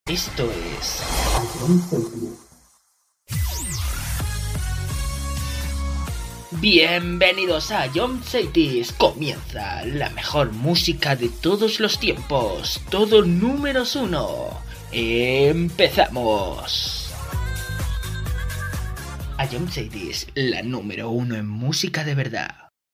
Esto es... Bienvenidos a Jump Cities. Comienza la mejor música de todos los tiempos. Todo números 1. Empezamos. A Jump Cities, la número 1 en música de verdad.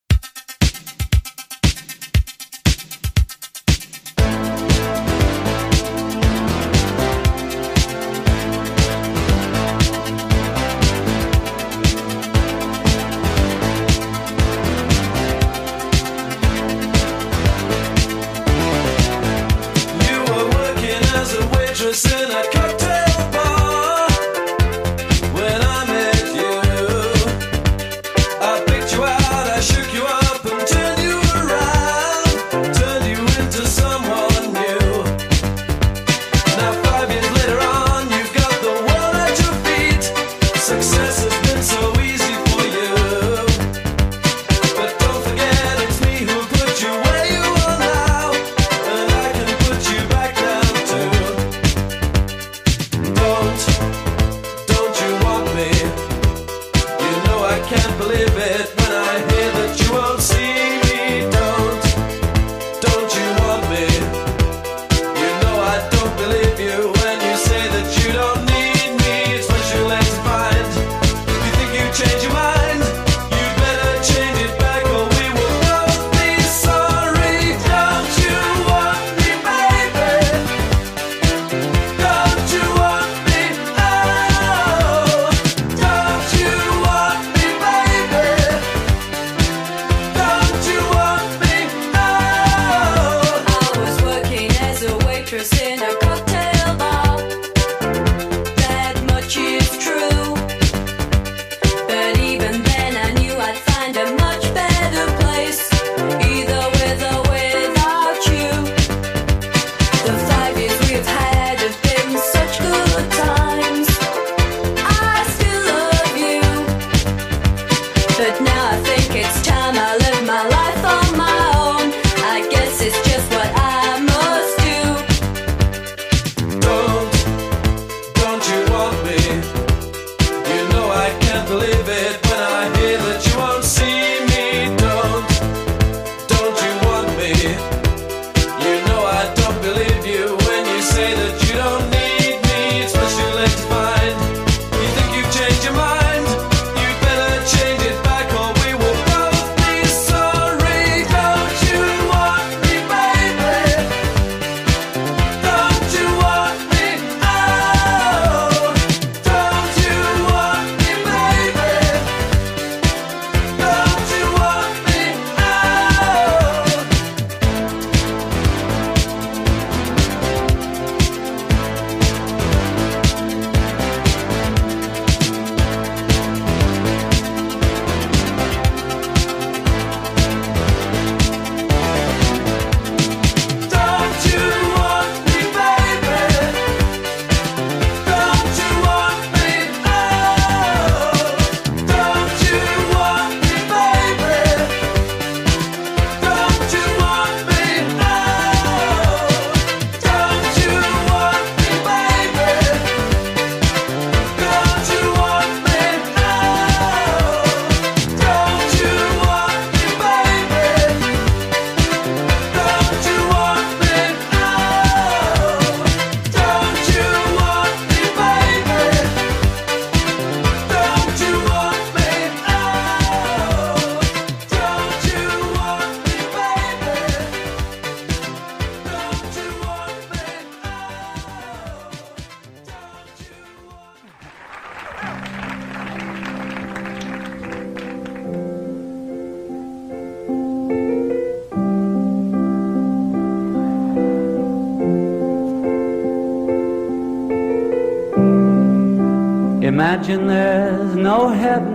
Imagine there's no heaven.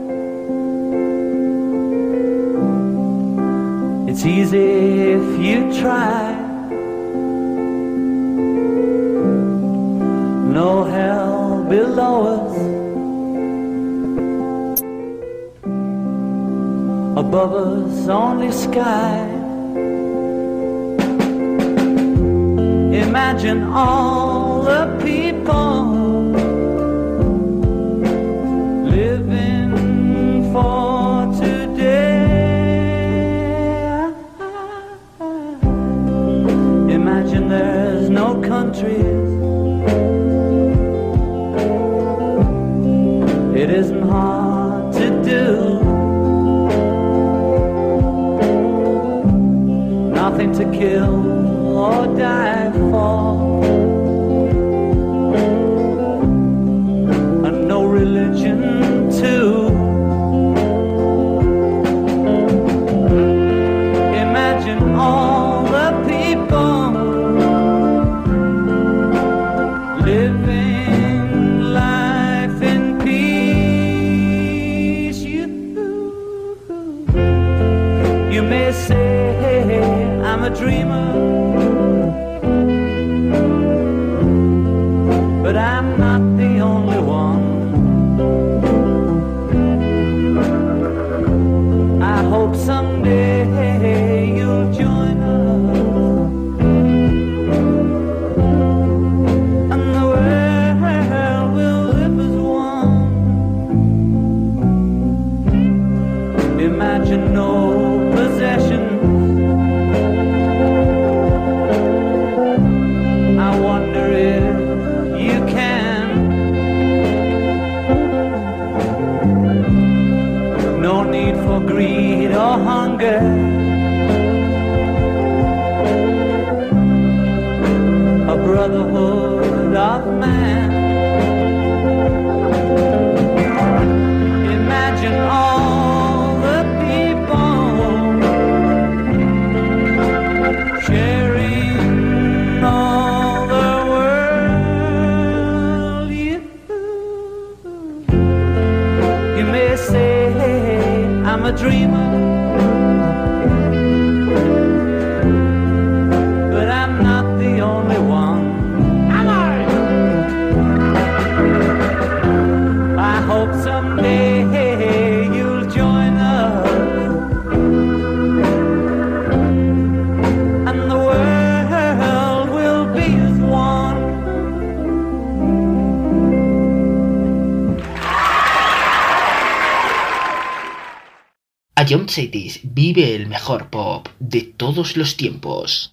It's easy if you try. No hell below us. Above us only sky. Imagine all the people living for today. Imagine there's no countries. It isn't hard to do. Nothing to kill or die for, and no religion too. Imagine all the people living life in peace. You may say I'm a dreamer, but I'm not the only one. I hope someday you'll join us, and the world will live as one. Imagine no possessions. I wonder if you can. No need for greed or hunger. A brotherhood of man. Imagine all the people sharing all the world. You may say I'm a dreamer, but I'm not the only one. Am I? I hope someday you'll join us, and the world will be as one. Ion Cities vive el mejor pop de todos los tiempos.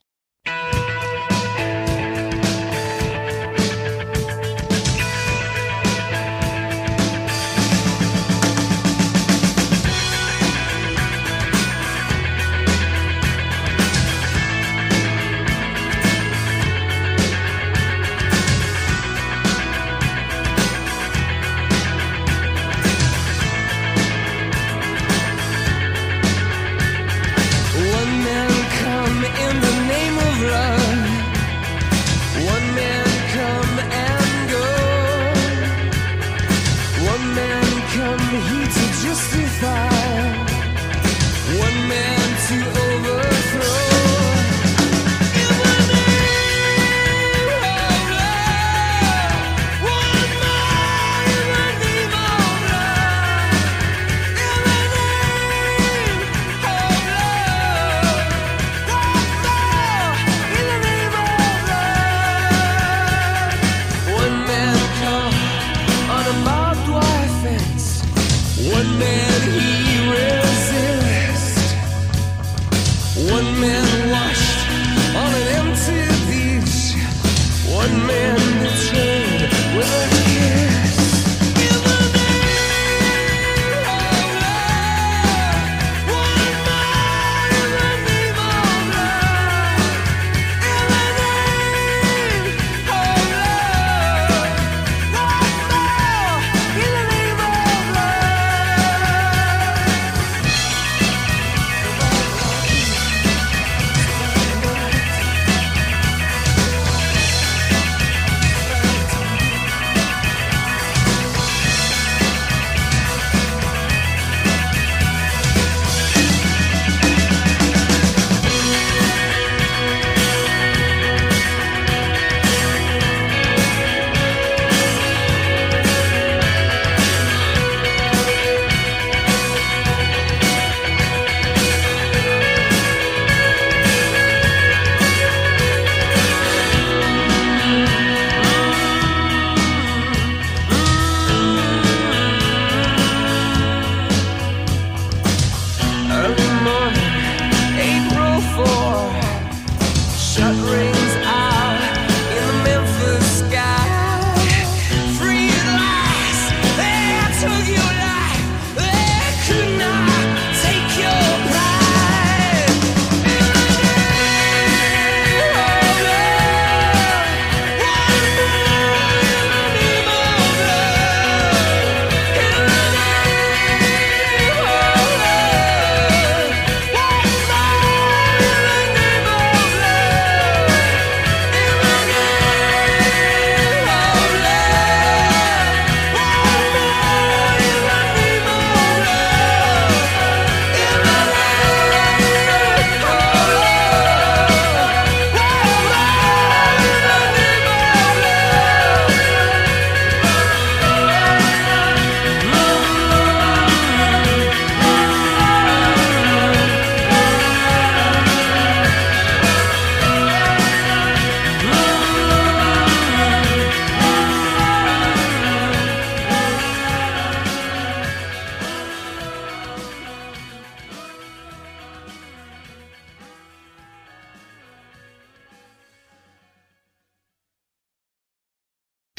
One man come in the name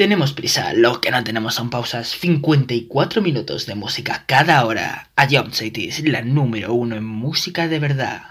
Tenemos prisa, lo que no tenemos son pausas. 54 minutos de música cada hora. A Jump City es la número 1 en música de verdad.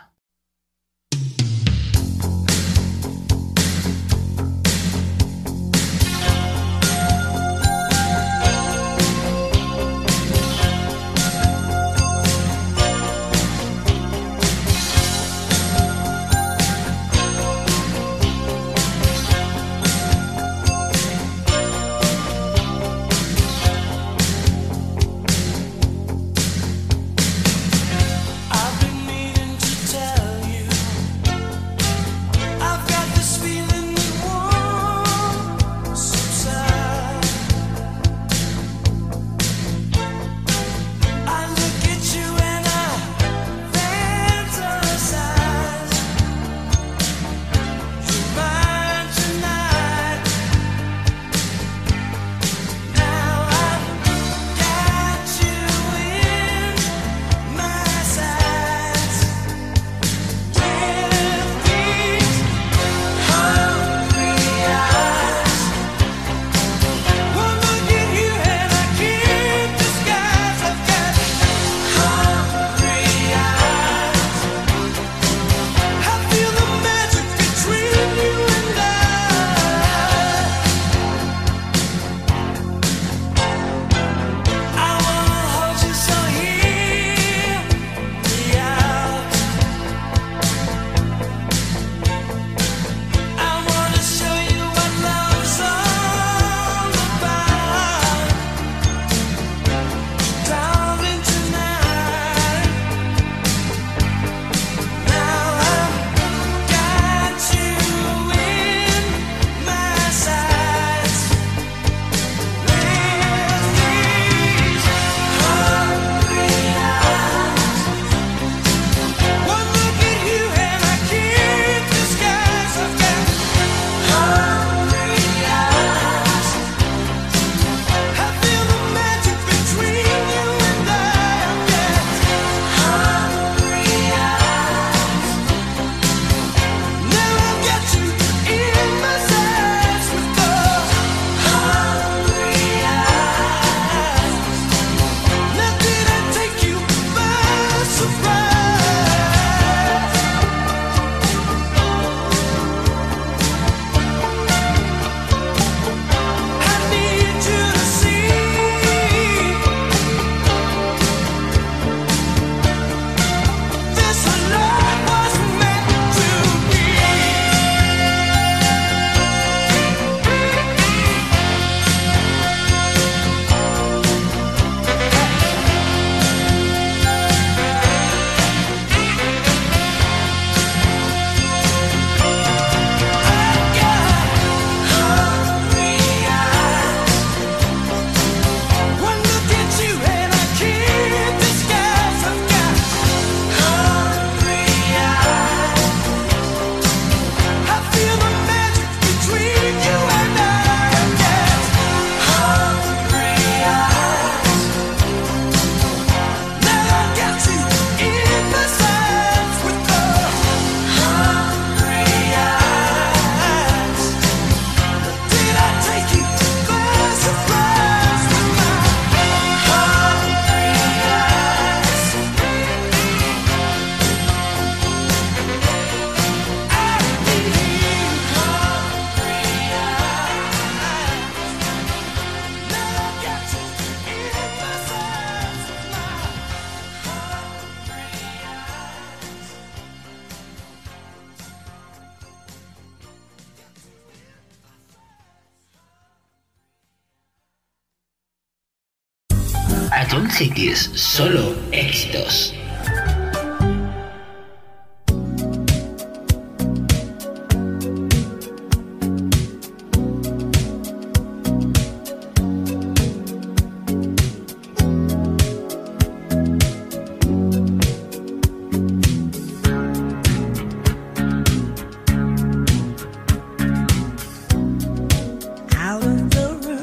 A Jump City es solo éxitos.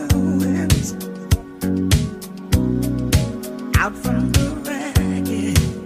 Out from the ragged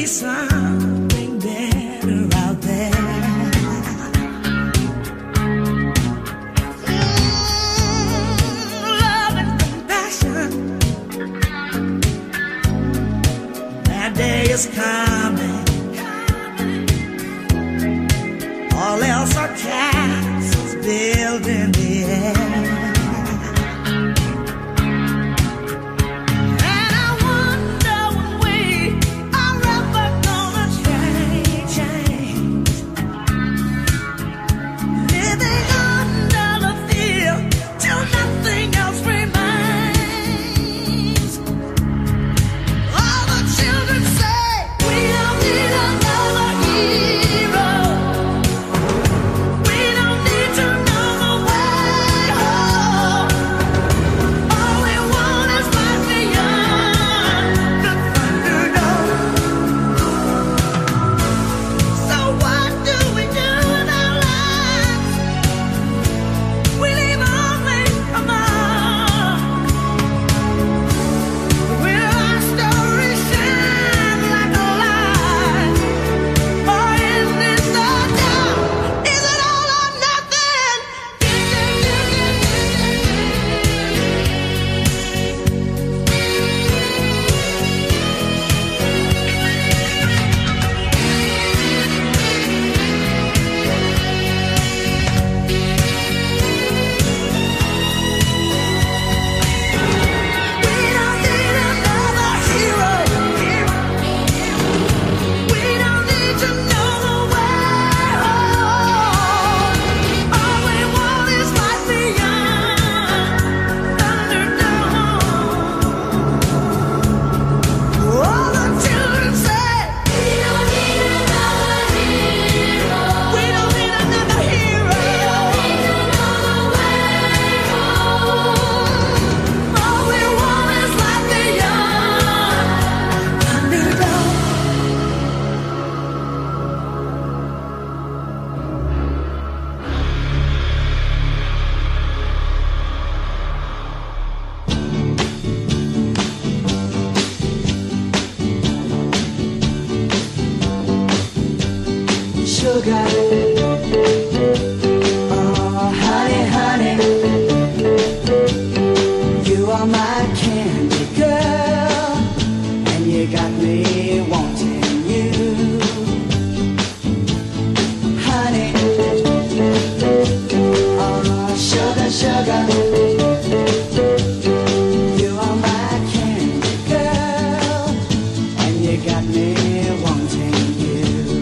something better out there. Love and compassion. That day is coming. All else are castles built in the air. Sugar, oh honey, honey, you are my candy girl, and you got me wanting you, honey, oh sugar, sugar, you are my candy girl, and you got me wanting you.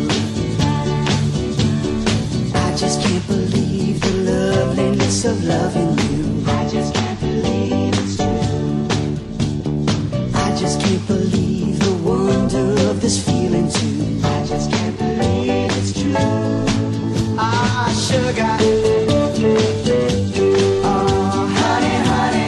I just can't believe the loveliness of loving you. I just can't believe it's true. I just can't believe the wonder of this feeling too. I just can't believe it's true. Ah, sugar. Oh, honey, honey.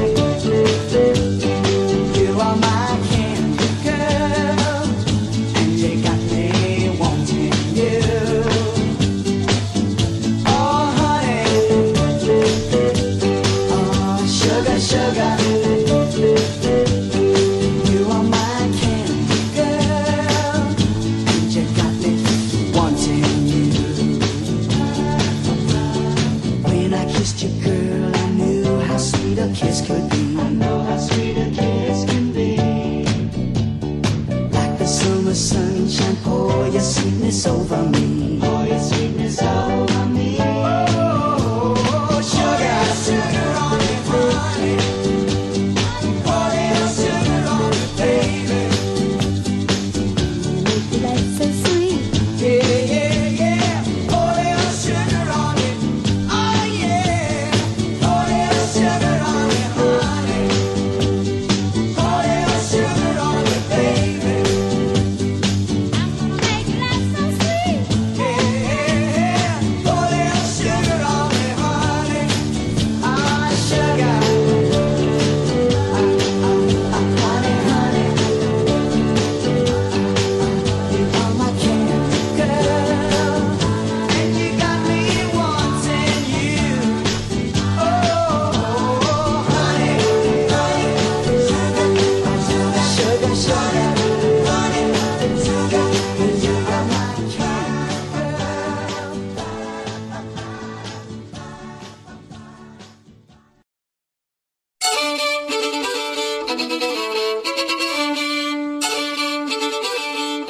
You are my candy girl, and you got me wanting you. Sugar, you are my candy girl, and you got me wanting you. When I kissed you, girl, I knew how sweet a kiss could be. I know how sweet a kiss can be. Like the summer sunshine, pour your sweetness over me. Pour your sweetness over me. Oh, sugar, sugar on me, honey. Yeah.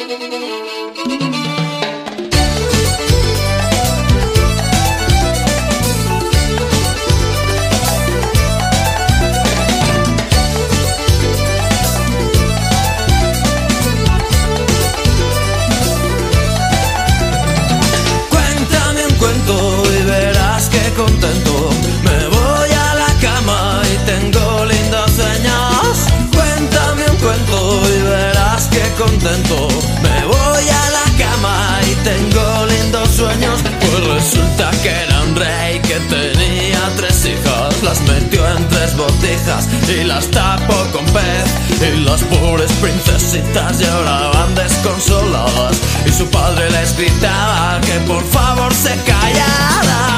Contento, me voy a la cama y tengo lindos sueños. Cuéntame un cuento y verás que contento. Me voy a la cama y tengo lindos sueños. Pues resulta que era un rey que tenía 3 hijas. Las metió en 3 botijas y las tapó con pez. Y las pobres princesitas lloraban desconsoladas. Y su padre les gritaba que por favor se callaran.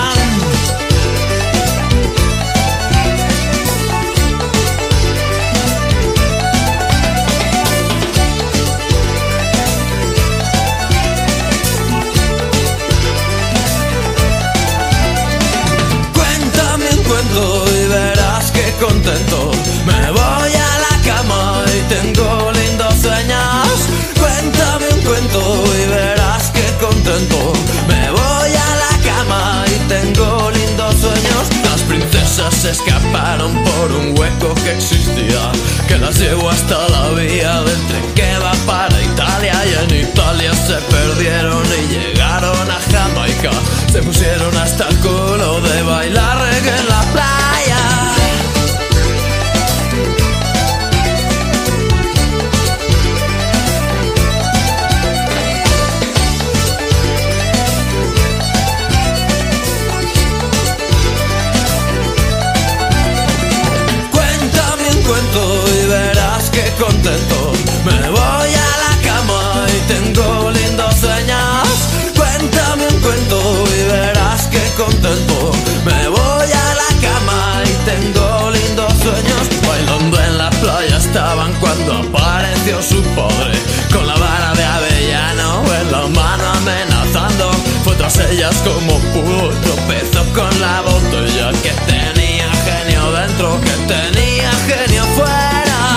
Y verás que contento. Me voy a la cama y tengo lindos sueños. Cuéntame un cuento y verás que contento. Me voy a la cama y tengo lindos sueños. Las princesas se escaparon por un hueco que existía, que las llevó hasta la vía del tren que va para Italia. Y en Italia se perdieron y llegaron a Jamaica. Se pusieron hasta el culo de bailar reggae en la playa. Cuéntame un cuento y verás que contento. Me voy a la cama y tengo lindos sueños. Cuéntame un cuento y verás que contento. Me voy a la cama y tengo lindos sueños. Bailando en la playa estaban cuando apareció su padre, con la vara de avellano en la mano amenazando. Fue tras ellas como pudo, tropezó con la botella. Que tenía genio dentro, que tenía genio fuera.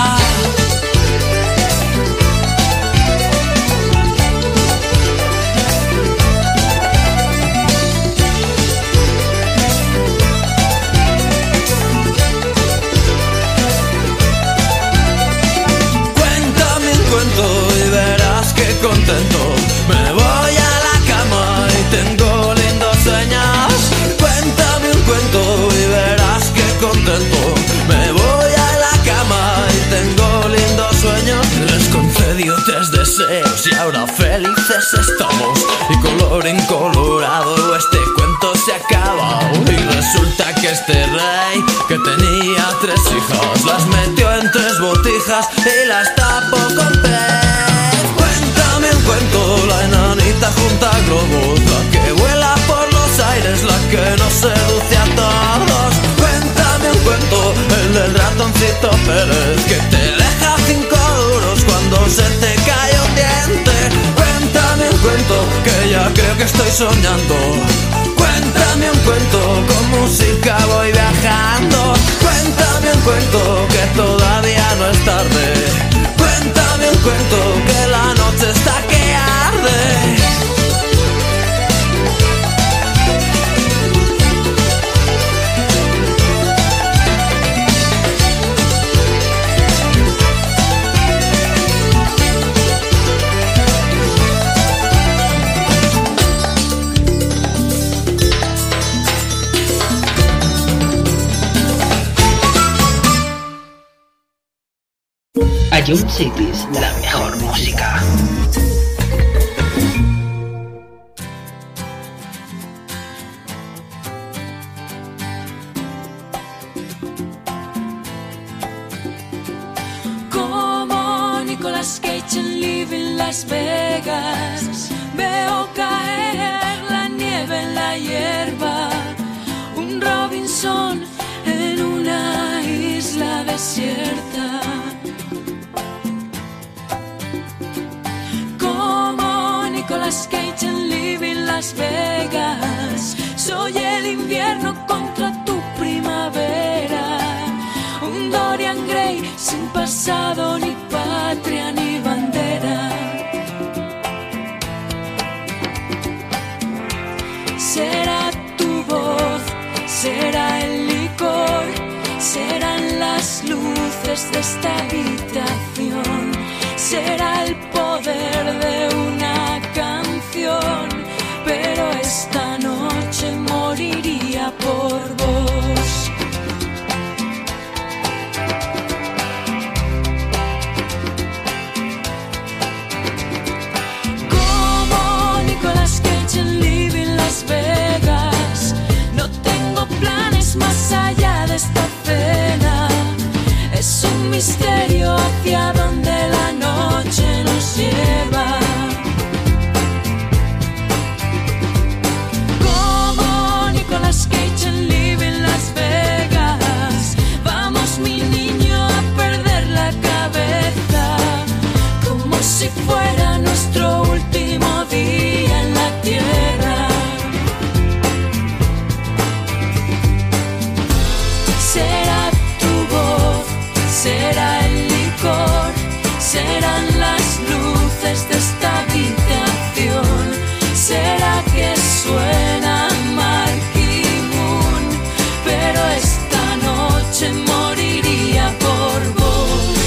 Y verás que contento. Me voy a la cama y tengo lindos sueños. Cuéntame un cuento y verás que contento. Me voy a la cama y tengo lindos sueños. Les concedió 3 deseos y ahora felices estamos. Y colorín colorado este cuento se acaba. Y resulta que este rey que tenía 3 hijas las metió en 3 botijas y las tapó con pez. Cuéntame un cuento, la enanita junta globos, la que vuela por los aires, la que nos seduce a todos. Cuéntame un cuento, el del ratoncito Pérez, que te deja 5 duros cuando se te cae un diente. Cuéntame un cuento, que ya creo que estoy soñando. Cuéntame un cuento, con música voy viajando. Cuéntame un cuento, que todavía no es tarde. Cuéntame un cuento, que la noche está que arde. Ion Cities, la mejor música. Como Nicolas Cage en Living Las Vegas, veo caer la nieve en la hierba, un Robinson en una isla desierta. Nicolas Cage en Living Las Vegas, soy el invierno contra tu primavera, un Dorian Gray sin pasado ni patria ni bandera. será el licor, serán las luces de esta habitación, será el poder de una canción, pero esta noche moriría por vos. Como Nicolas Cage en Living Las Vegas, no tengo planes más allá de esta cena. Es un misterio hacia donde la noche nos lleva. Como Nicolas Cage en Living Las Vegas, vamos mi niño a perder la cabeza, como si fuera nuestro último día en la tierra. Será tu voz, será el licor, serán las luces de esta habitación, será que suena Marquee Moon, pero esta noche moriría por vos.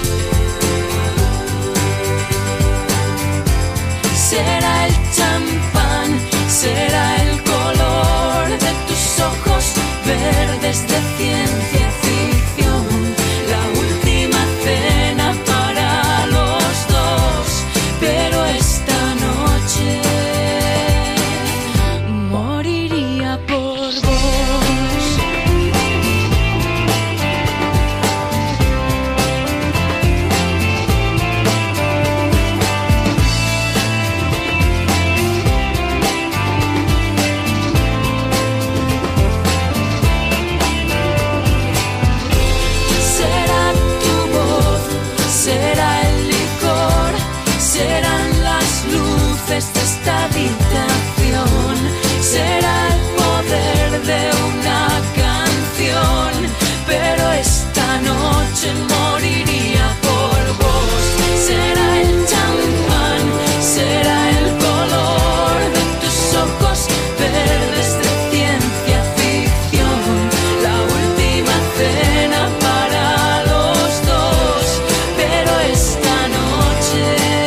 Será el champán, será el color de tus ojos verdes de ciencia ficción, la última cena para los dos, pero esta noche moriría por vos. Será tu voz, será el licor, serán las luces de esta habitación, será el poder de una canción, pero esta noche moriría por vos. Será el champán, será el color de tus ojos verdes de ciencia ficción, la última cena para los dos, pero esta noche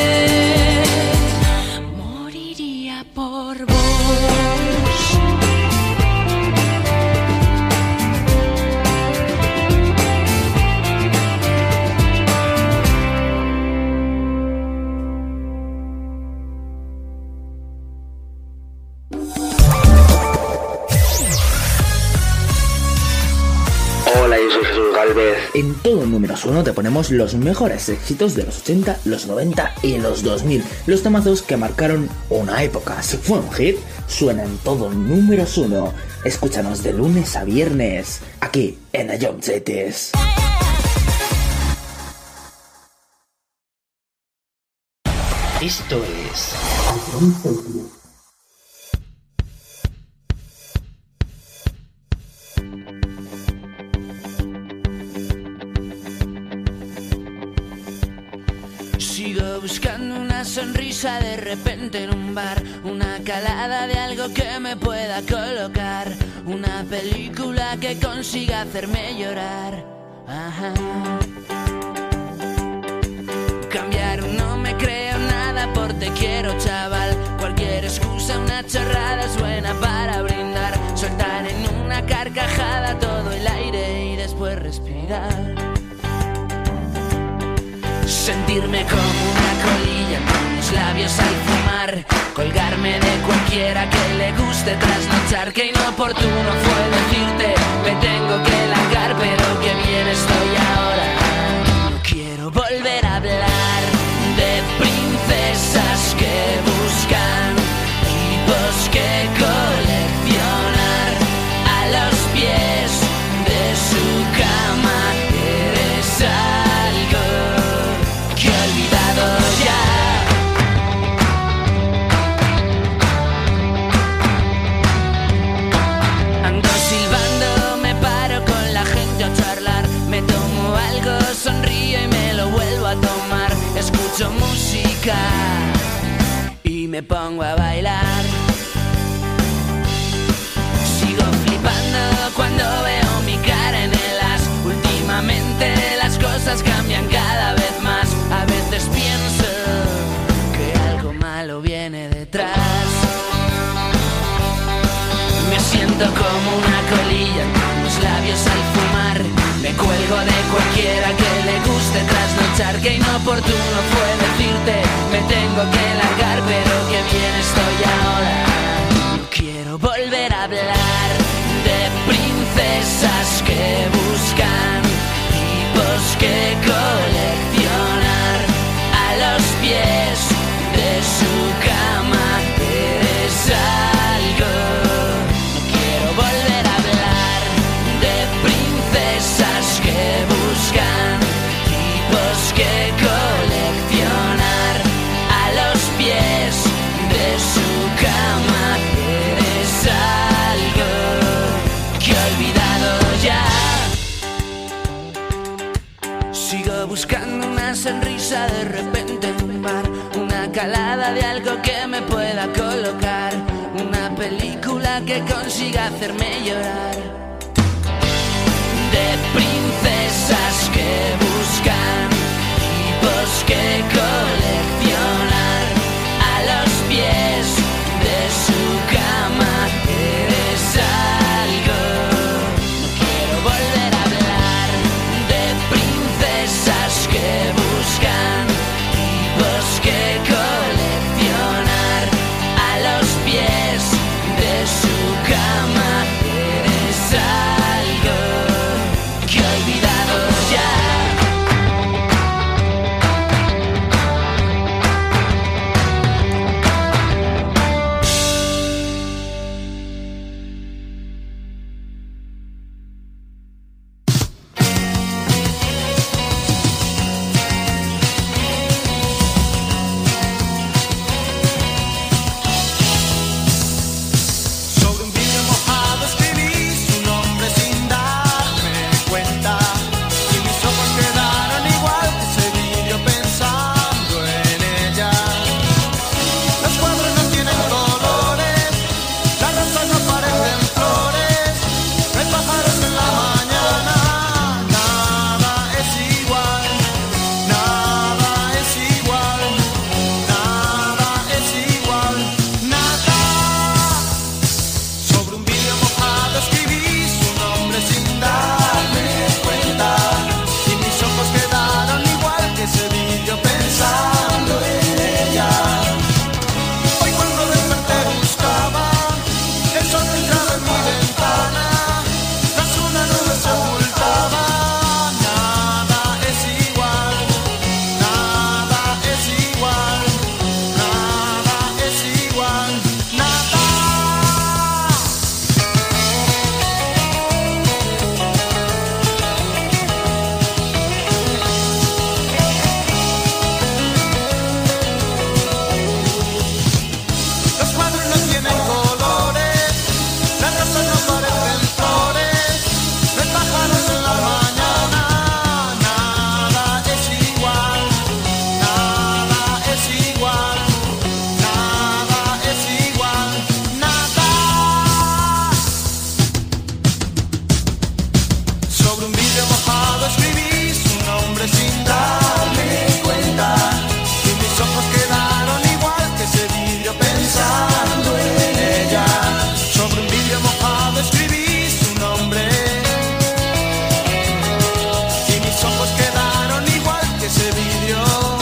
moriría por vos. Hola, yo soy Jesús Galvez. En todo Números 1 te ponemos los mejores éxitos de los 80, los 90 y los 2000. Los temazos que marcaron una época. Si fue un hit, suena en todo Números 1. Escúchanos de lunes a viernes, aquí en Ayom Cities. Esto es Ayom Cities. Sigo buscando una sonrisa de repente en un bar, una calada de algo que me pueda colocar, una película que consiga hacerme llorar. Ajá. Cambiar, no me creo nada por te quiero, chaval. Cualquier excusa, una chorrada es buena para brindar. Soltar en una carcajada todo el aire y después respirar. Sentirme como una colilla con los labios al fumar. Colgarme de cualquiera que le guste trasnochar. Que inoportuno fue decirte me tengo que largar, pero que bien estoy ahora. No quiero volver a hablar de princesas que buscan tipos que coleccionar a los pies de su cama. Eres algo que he olvidado ya. Ando silbando, me paro con la gente a charlar. Me tomo algo, sonrío y me lo vuelvo a tomar. Escucho música y me pongo a bailar. Sigo flipando trasnochar, que inoportuno fue decirte me tengo que largar, pero que bien estoy ahora. Quiero volver a hablar de princesas que buscan tipos que coleccionar a los pies de su cama. Eres algo. No quiero volver a hablar de princesas que buscan tipos que coleccionar a los pies de su cama. Eres algo que he olvidado ya. Sigo buscando una sonrisa de repente en un bar, una calada de algo que me pueda colocar, una película que consiga hacerme llorar. De princesas que buscan tipos que coleccionar a los pies de su cama. Eres algo. No quiero volver a hablar de princesas que buscan tipos que coleccionar a los pies de su cama. Eres algo que he olvidado ya. Sobre un vidrio mojado escribí su nombre sin darme cuenta, y mis ojos quedaron igual que ese vidrio pensando en ella. Los cuadros no tienen colores, las rosas no parecen flores, no hay pájaros en la mañana. Nada es igual, nada es igual, nada es igual, nada. Sobre un vidrio mojado escribí su nombre sin darme cuenta, y mis ojos quedaron igual que ese vidrio pensando en ella. Hoy cuando desperté buscaba el sol que entraba en mi ventana, tras una nube se ocultaba. Nada es igual, nada es igual, nada es igual, nada. Los cuadros no tienen colores, las rosas no parecen flores, no hay pájaros en la mañana. Nada es igual, nada es igual, nada es igual, nada. Sobre un vidrio mojado escribí su nombre sin darme cuenta, y mis ojos quedaron igual que ese vidrio pensando en ella. Sobre un vidrio mojado escribí su nombre, y mis ojos quedaron igual que ese vidrio.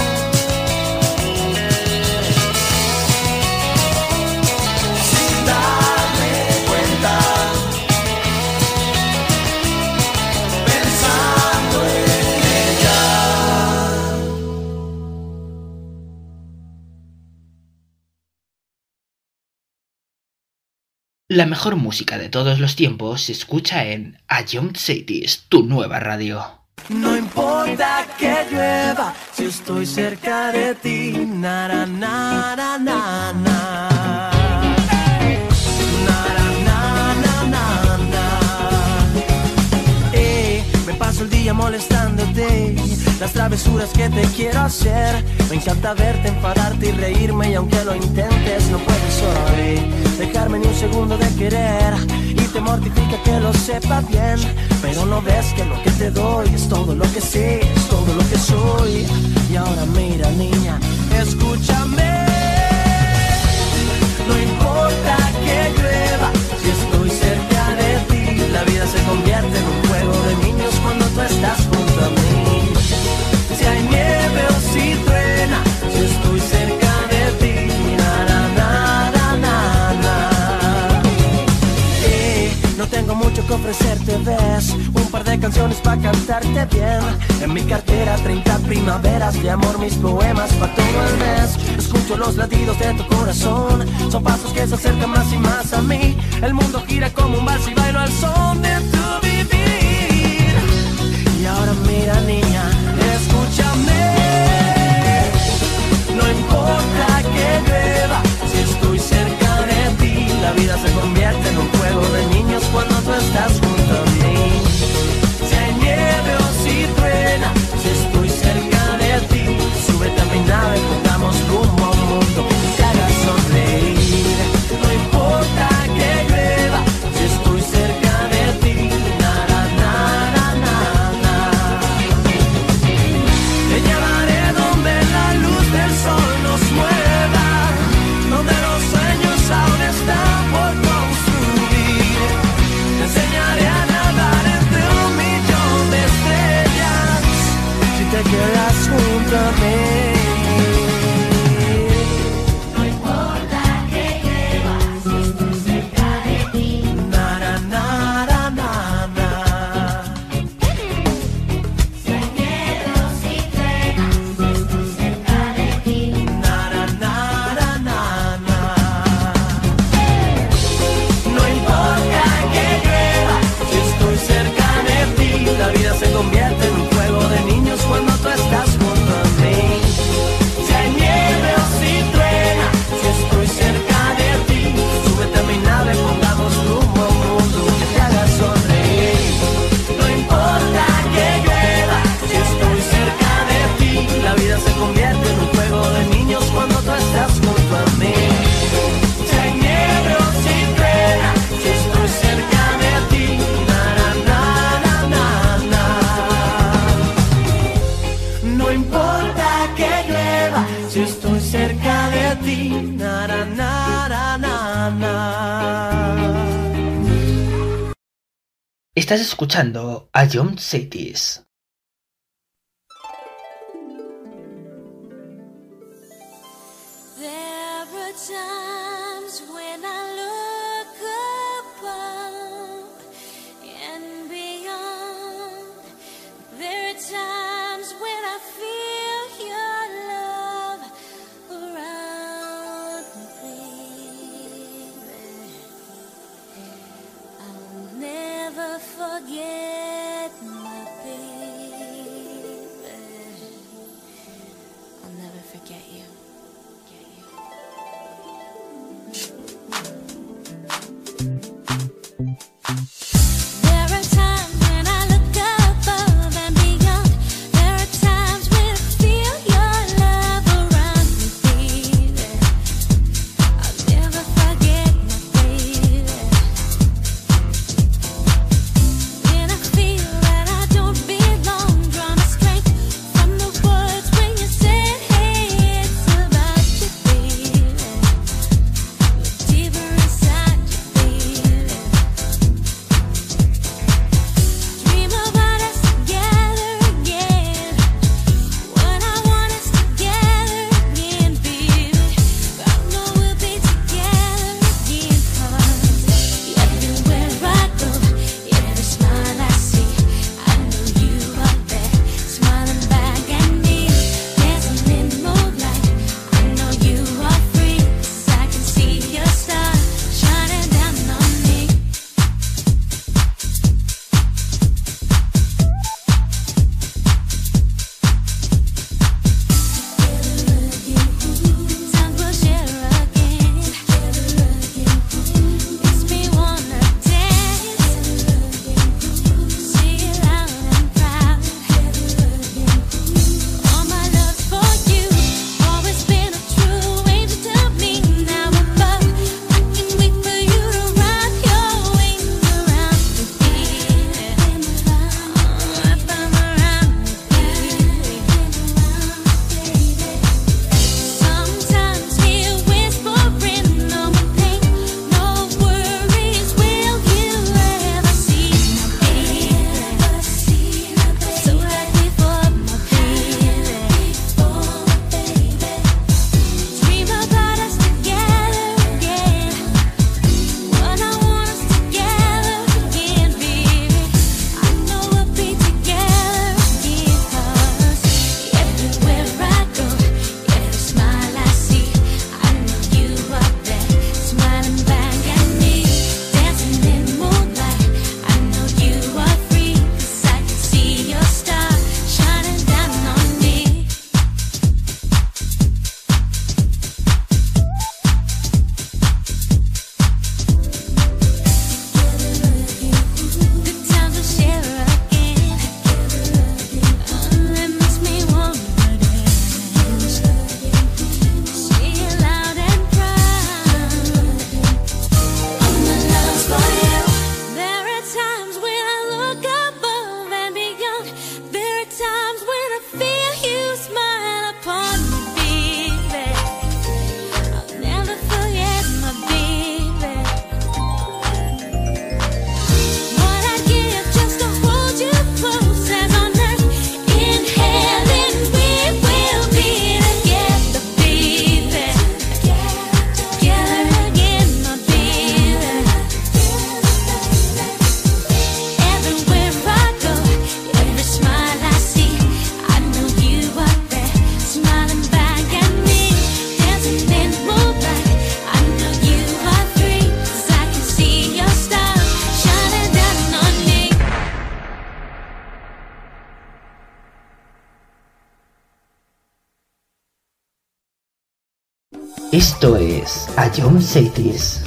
Sin darme cuenta, pensando en ella. La mejor música de todos los tiempos se escucha en A Young Cities, tu nueva radio. No importa que llueva si estoy cerca de ti. Na, na, na, na, na, na. Na, na, na, na, na. Me paso el día molestándote, las travesuras que te quiero hacer. Me encanta verte, enfadarte y reírme, y aunque lo intentes no puedes hoy dejarme ni un segundo de querer. Y te mortifica que lo sepa bien, pero no ves que lo que te doy es todo lo que sé, es todo lo que soy. Y ahora mira, niña, escúchame. No importa que llueva si estoy cerca de ti. La vida se convierte en un juego de niños cuando tú estás junto a mí. que ofrecerte, ves un par de canciones para cantarte bien. En mi cartera 30 primaveras de amor, mis poemas para todo el mes. Escucho los latidos de tu corazón, son pasos que se acercan más y más a mí. El mundo gira como un vals y bailo al son de tu vivir. Y ahora mira niña, escúchame. No importa que llueva, si estoy cerca de ti, la vida se convierte en un juego de niños cuando tú estás junto a mí. Si hay nieve o si truena, si estoy cerca de ti, súbete a mi nave, pongamos rumbo a un mundo que te haga sonreír. No importa que llueva, si estoy cerca de ti, na na na na na na. Te llevaré donde la luz del sol nos mueva, donde los sueños aún están por construir. Te enseñaré a nadar entre un millón de estrellas, si te quedas junto a mí. No importa que llueva, si estoy cerca de ti. Na na na na na na. Si hay nieve o si truena, si estoy cerca de ti. Na na na na na na. No importa que llueva, si estoy cerca de ti, la vida se convierte en un juego de niños cuando tú estás junto a mí. Si hay nieve o si truena, si estoy cerca de ti, súbete a mi nave, pongamos rumbo a un mundo que te haga sonreír. No importa que llueva, si estoy cerca de ti, la vida se convierte en un juego de niños cuando tú estás junto a mí. Si hay nieve o si truena, si estoy cerca de ti, na na na na na na. No importa que llueva, si estoy cerca de ti, na na na na na na. Estás escuchando a John Cities. There are times when I look above and beyond. There are times when I feel your love around me, baby. I'll never forget my baby. I'll never forget you. There are times when I look above and beyond. There are times when I feel your love around me, baby. I'll never forget my baby. When I Esto es A Young Cities.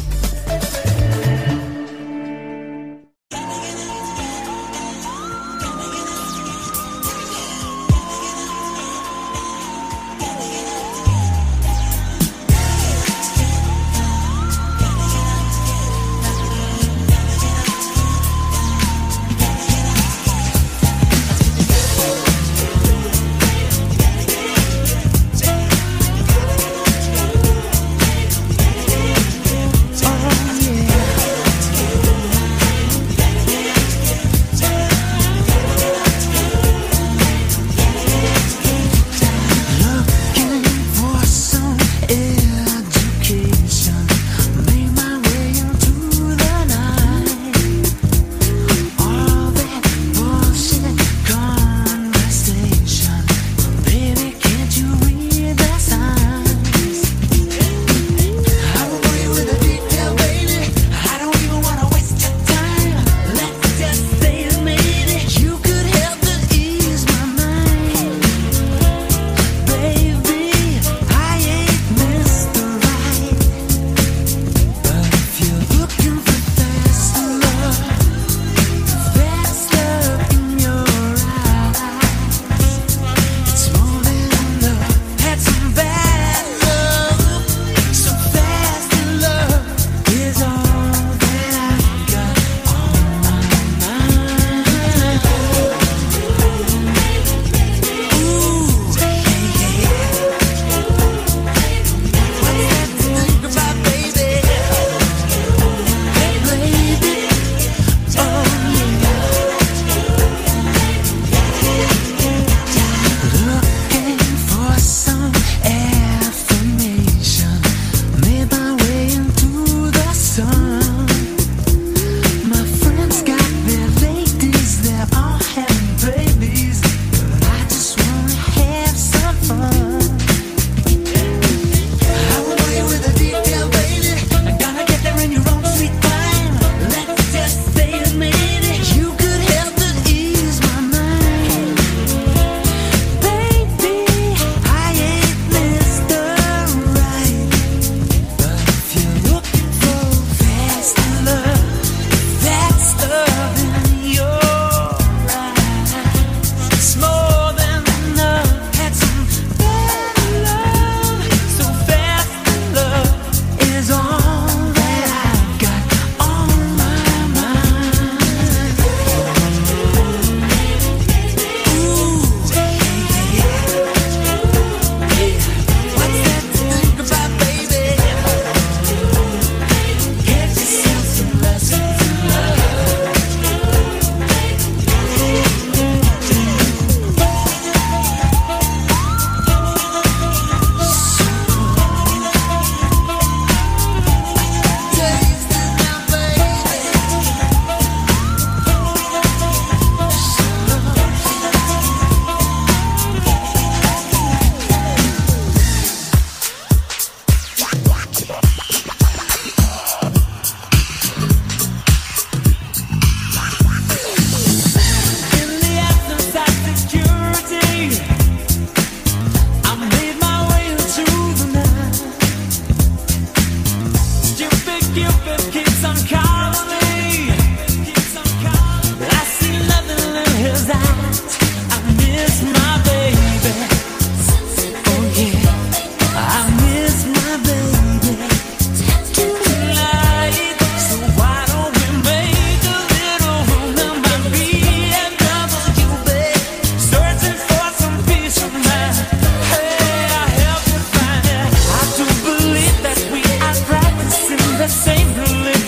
The same religion.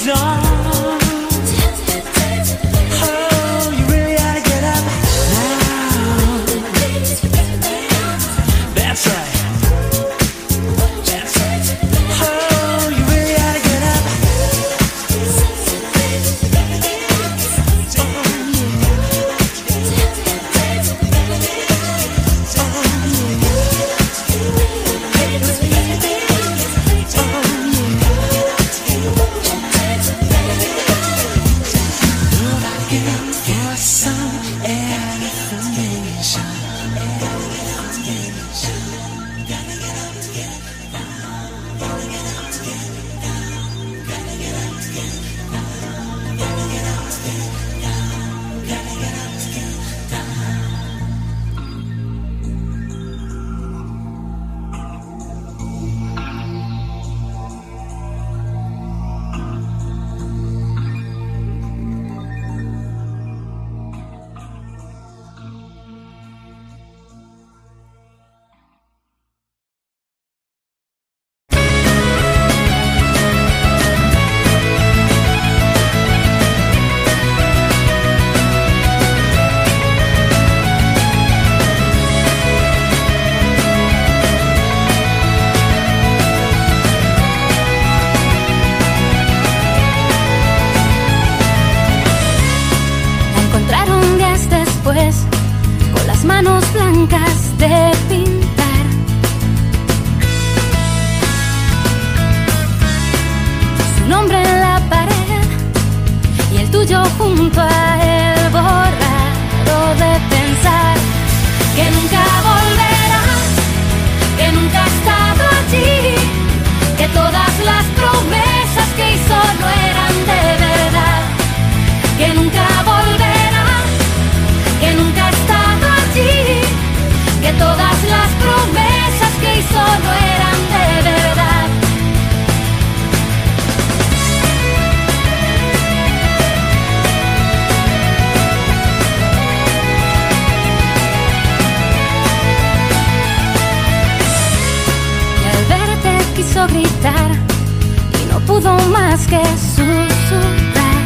pudo más que susurrar.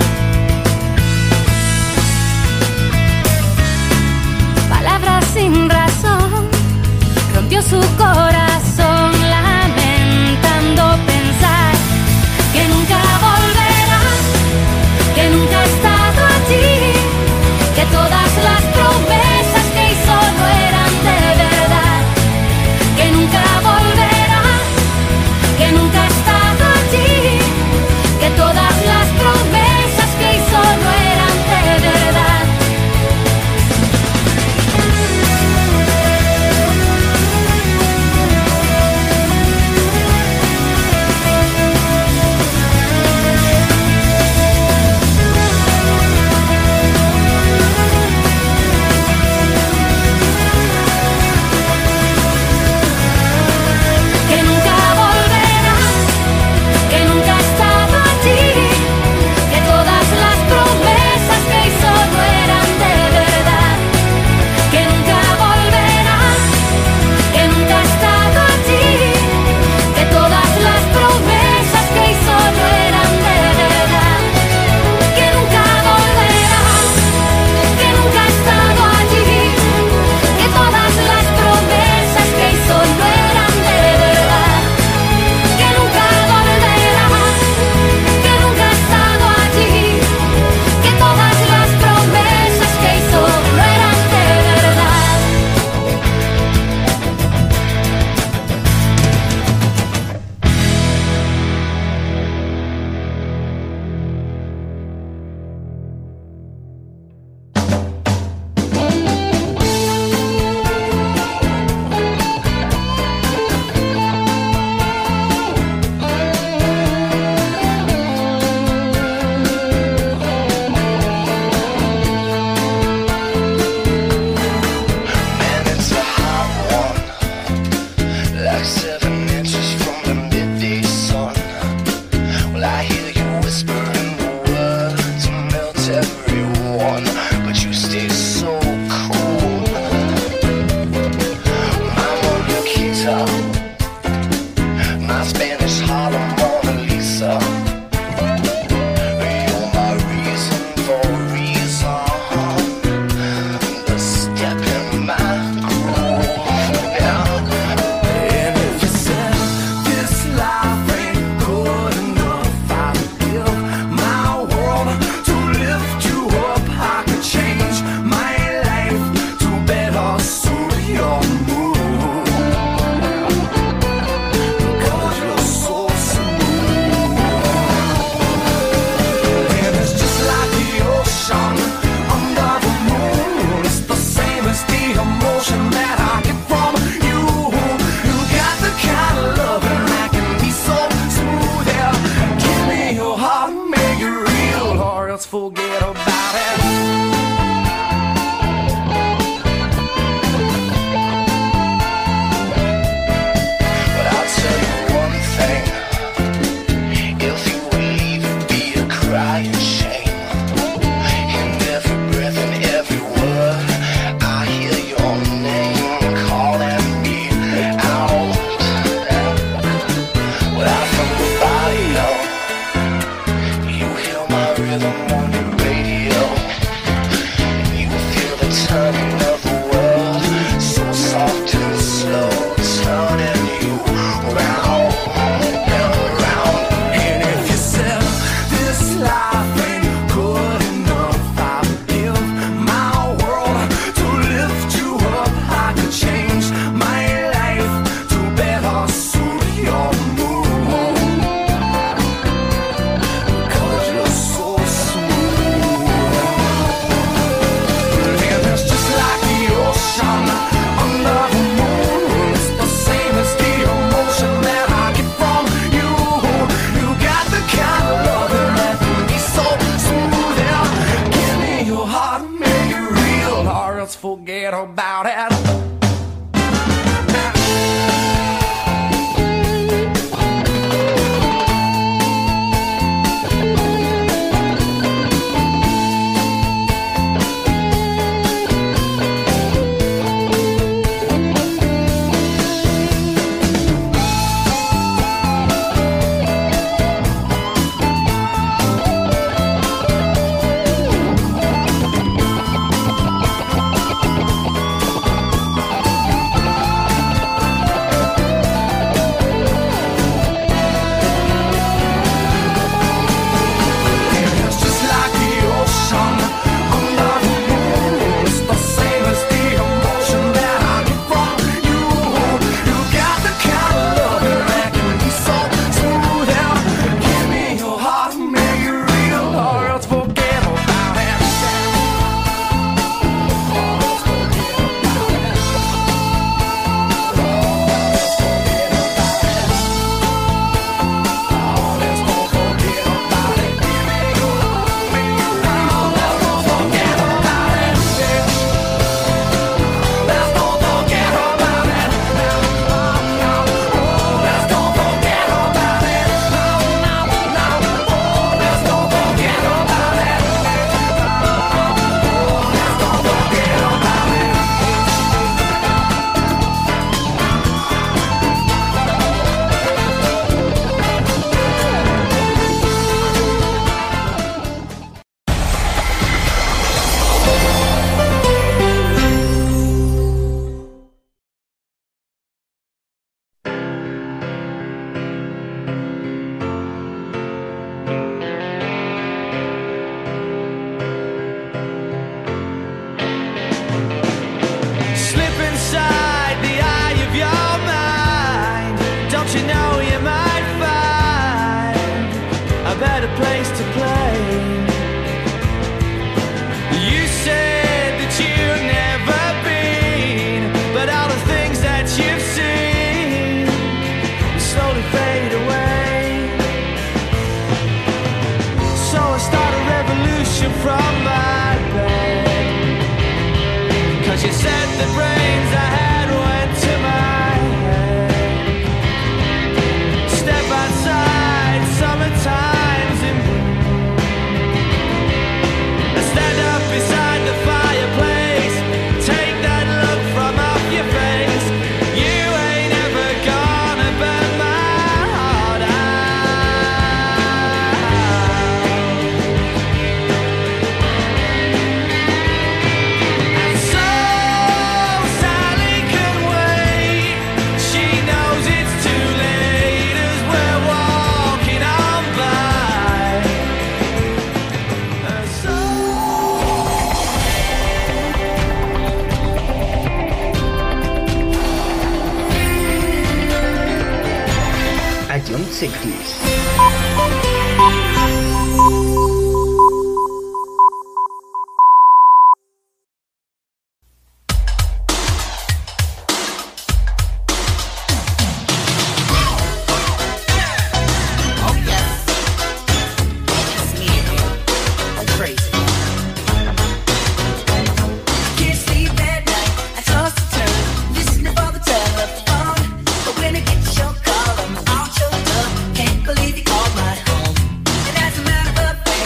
Palabras sin razón, rompió su corazón, lamentando pensar que nunca volverás, que nunca ha estado allí, que todas las promesas que hizo no eran de verdad, que nunca volverás, que nunca ha estado allí, que todas las promesas que hizo no eran de verdad. Que nunca volverás, que nunca ha estado allí, que todas las promesas que hizo no eran de verdad, que nunca volverás, que nunca ha estado allí, que todas las promesas que hizo no eran de verdad, que nunca volverás, que nunca ha estado allí, que todas las promesas que hizo no eran de verdad, que nunca volverás, que nunca ha estado allí, que todas las promesas que hizo no eran de verdad. Man, it's a hot one, like 7 inches from the midday sun. Well, I hear you whispering the words to melt everyone, but you stay so cool. My Mona Lisa, my Spanish Harlem Mona Lisa. You're my reason for reason, the step in my groove. And if you said this life ain't good enough, I'd give my world to lift you up. I could change my life to better suit your mood, because you're so smooth. And it's just like the ocean under the moon. It's the same as the emotion that I get from you. You got the kind of loving that can be so smooth. Yeah, give me your heart, make it real, or else forget about it. But I'll tell you one thing, if you would leave, it'd be a crying shame. In every breath and every word, I hear your name calling me out. Well, I'm from the barrio, you hear my rhythm on your radio, and you feel the turning of the world, so soft and slow, turning you round and round. And if you said this life ain't good enough, I'd give my world to lift you up. I could change my life to better suit your mood, because you're so smooth. And it's just like the ocean under the moon. It's the same as the emotion that I get from you. You got the kind of loving that can be so smooth. Yeah, give me your heart, make it real, or else forget about it. Can't believe you called my home. And as a matter of fact,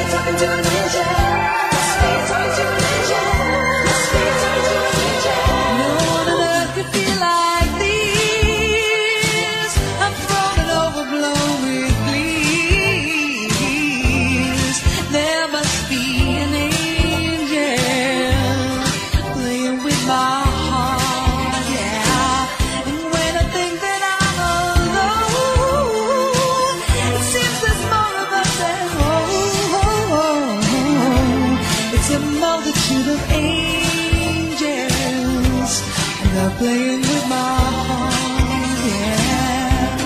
Playing with my heart, yeah.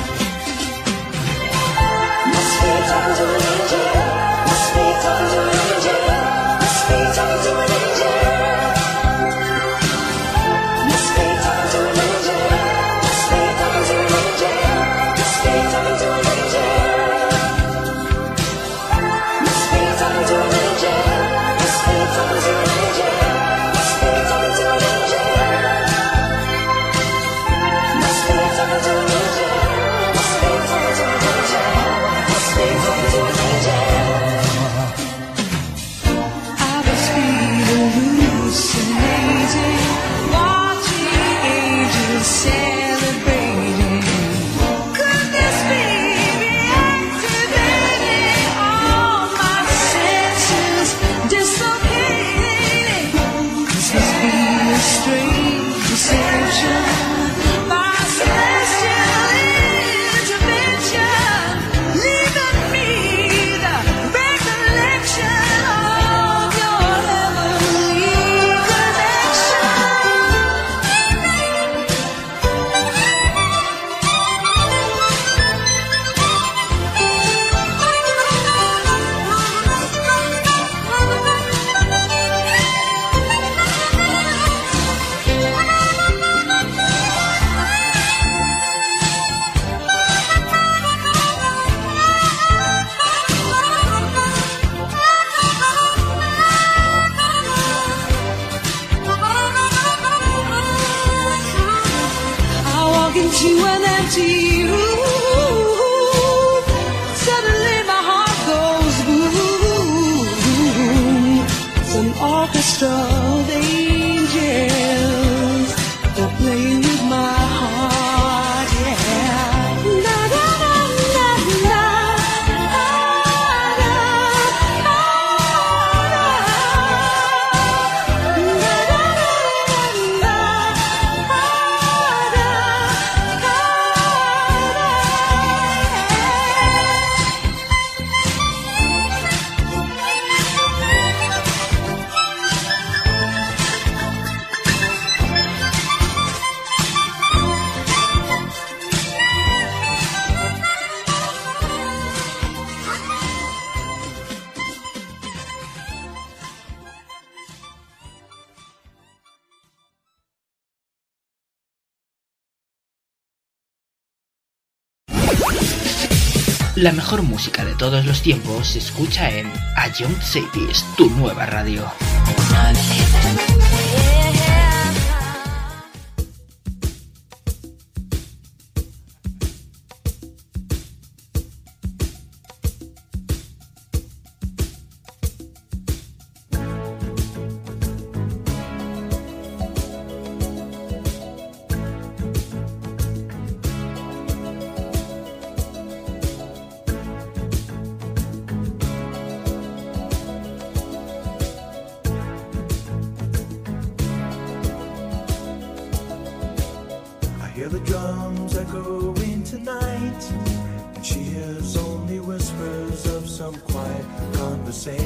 Must be talking to an angel. Must be talking to an angel. Must be talking to an angel. Must be talking to an angel. Must be talking to an angel. Must be talking to an angel. Must be talking to an angel. Must be talking to an angel. Must be talking to an angel. La mejor música de todos los tiempos se escucha en A Young Cities, tu nueva radio. Hear the drums echoing tonight, and she hears only whispers of some quiet conversation.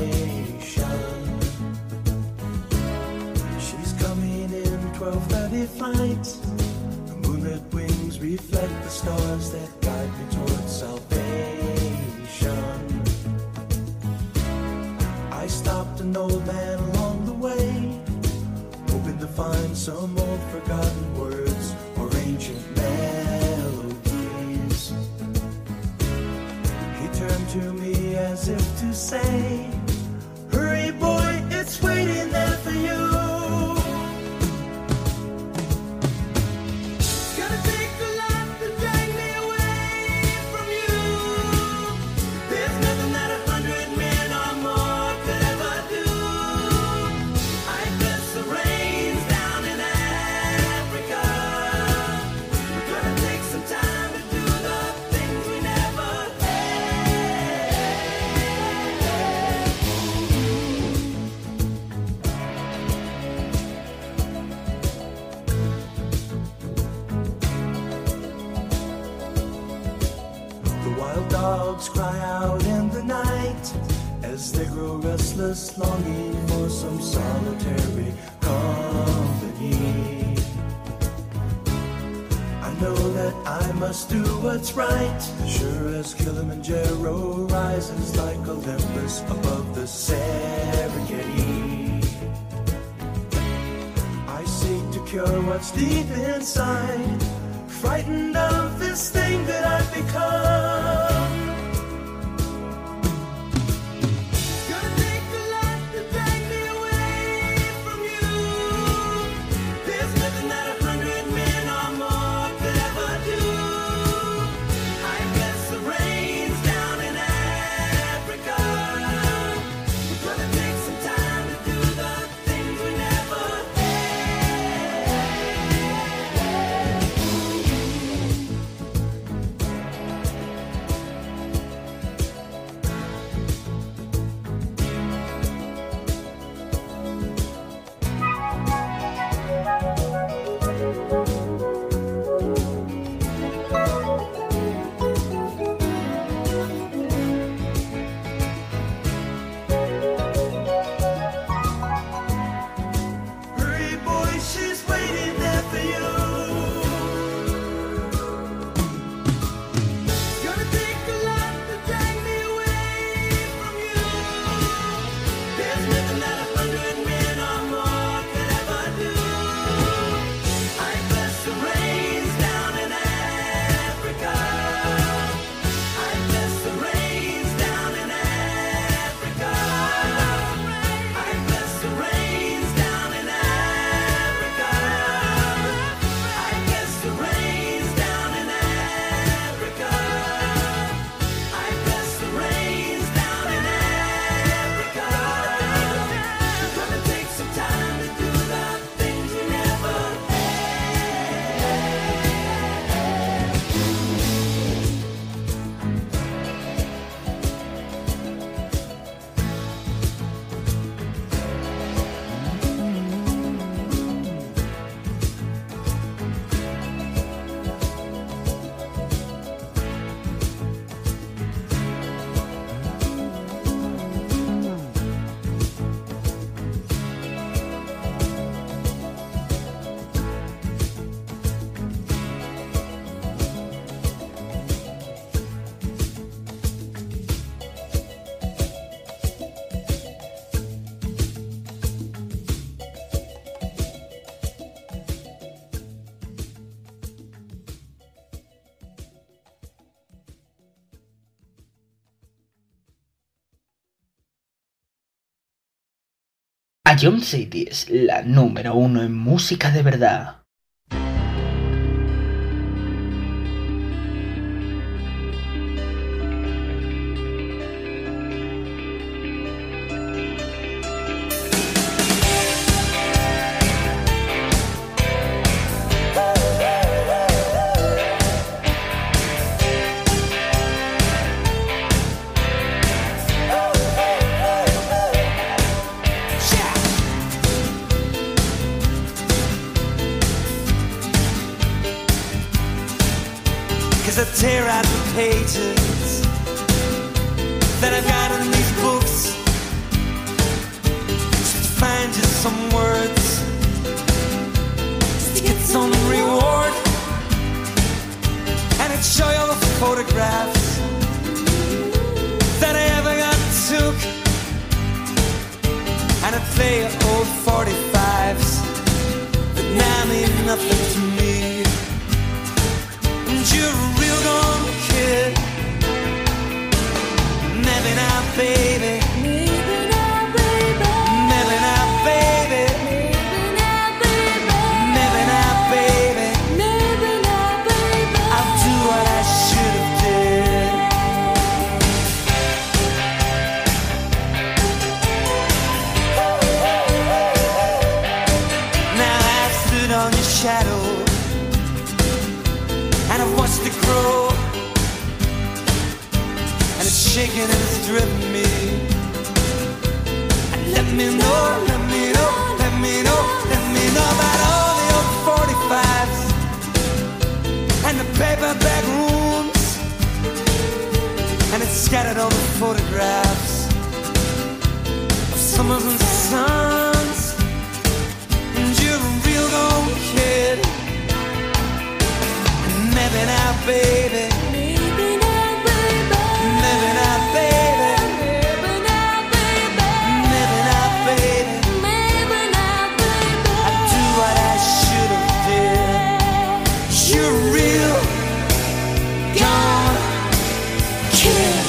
She's coming in 12:30 flight. The moonlit wings reflect the stars that guide me towards salvation. I stopped an old man along the way, hoping to find some old forgotten words or ancient melodies. He turned to me as if to say, hurry boy, it's waiting there for you. It's gonna take a lot to drag me away from you. There's nothing that 100 men are a restless longing for some solitary company. I know that I must do what's right, sure as Kilimanjaro rises like Olympus above the Serengeti. I seek to cure what's deep inside, frightened of this thing that I've become. Gonna take a lot to drag me away from you. There's nothing that 100 men or more could ever do. I guess the rain's down in Africa. We're gonna take some time to do the things we never Hurry, boy, she's waiting there for you. Gonna take a lot to drag me away from you. There's nothing that 100 men or more could ever do. I bless the rains down in Africa. I bless the rains down in Africa. I bless the rains down in Africa. I bless the rains down in Africa. I bless the rains down in Africa. We're gonna take some time to do the things we never Ion City es la número 1 en música de verdad. I tear out the pages that I've got in these books, just to find just some words, just to get some reward, and I'd show you all the photographs that I ever got took, and I'd play old 45s that now mean nothing to me. And you're a real gone kid. Maybe now, baby. Maybe now, baby. Maybe now, baby. Maybe now, baby. Maybe now, baby. I'll do what I should have did. Now I've stood on your shadow, and I've watched it grow, and it's shaking and it's driven me. And let me know, let me know, let me know, let me know about all the old 45s and the paperback rooms, and it's scattered all the photographs summers and suns. And you're a real gold kid. And maybe now, baby. Maybe now, baby. Maybe now, baby. Maybe now, baby. Maybe now, baby. Maybe now, baby. I do what I should have did. You're a real gold kid.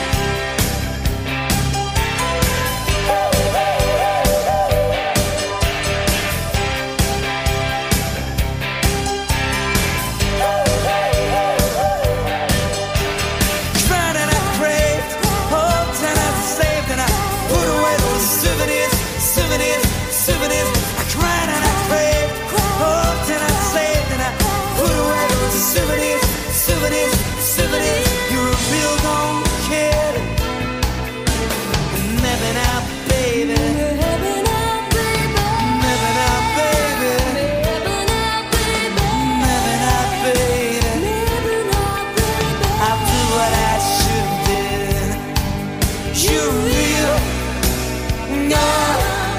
Cried and I craved, hoped and I saved and I put away those souvenirs, souvenirs, souvenirs. I cried and I craved, hoped and I saved and I put away those souvenirs, souvenirs, souvenirs. You're a real gold kid. And maybe now, baby. Maybe now, baby. Maybe now, baby. Maybe now, baby. Maybe now, baby. Maybe now, baby. I'll do what I should have did. You're real, not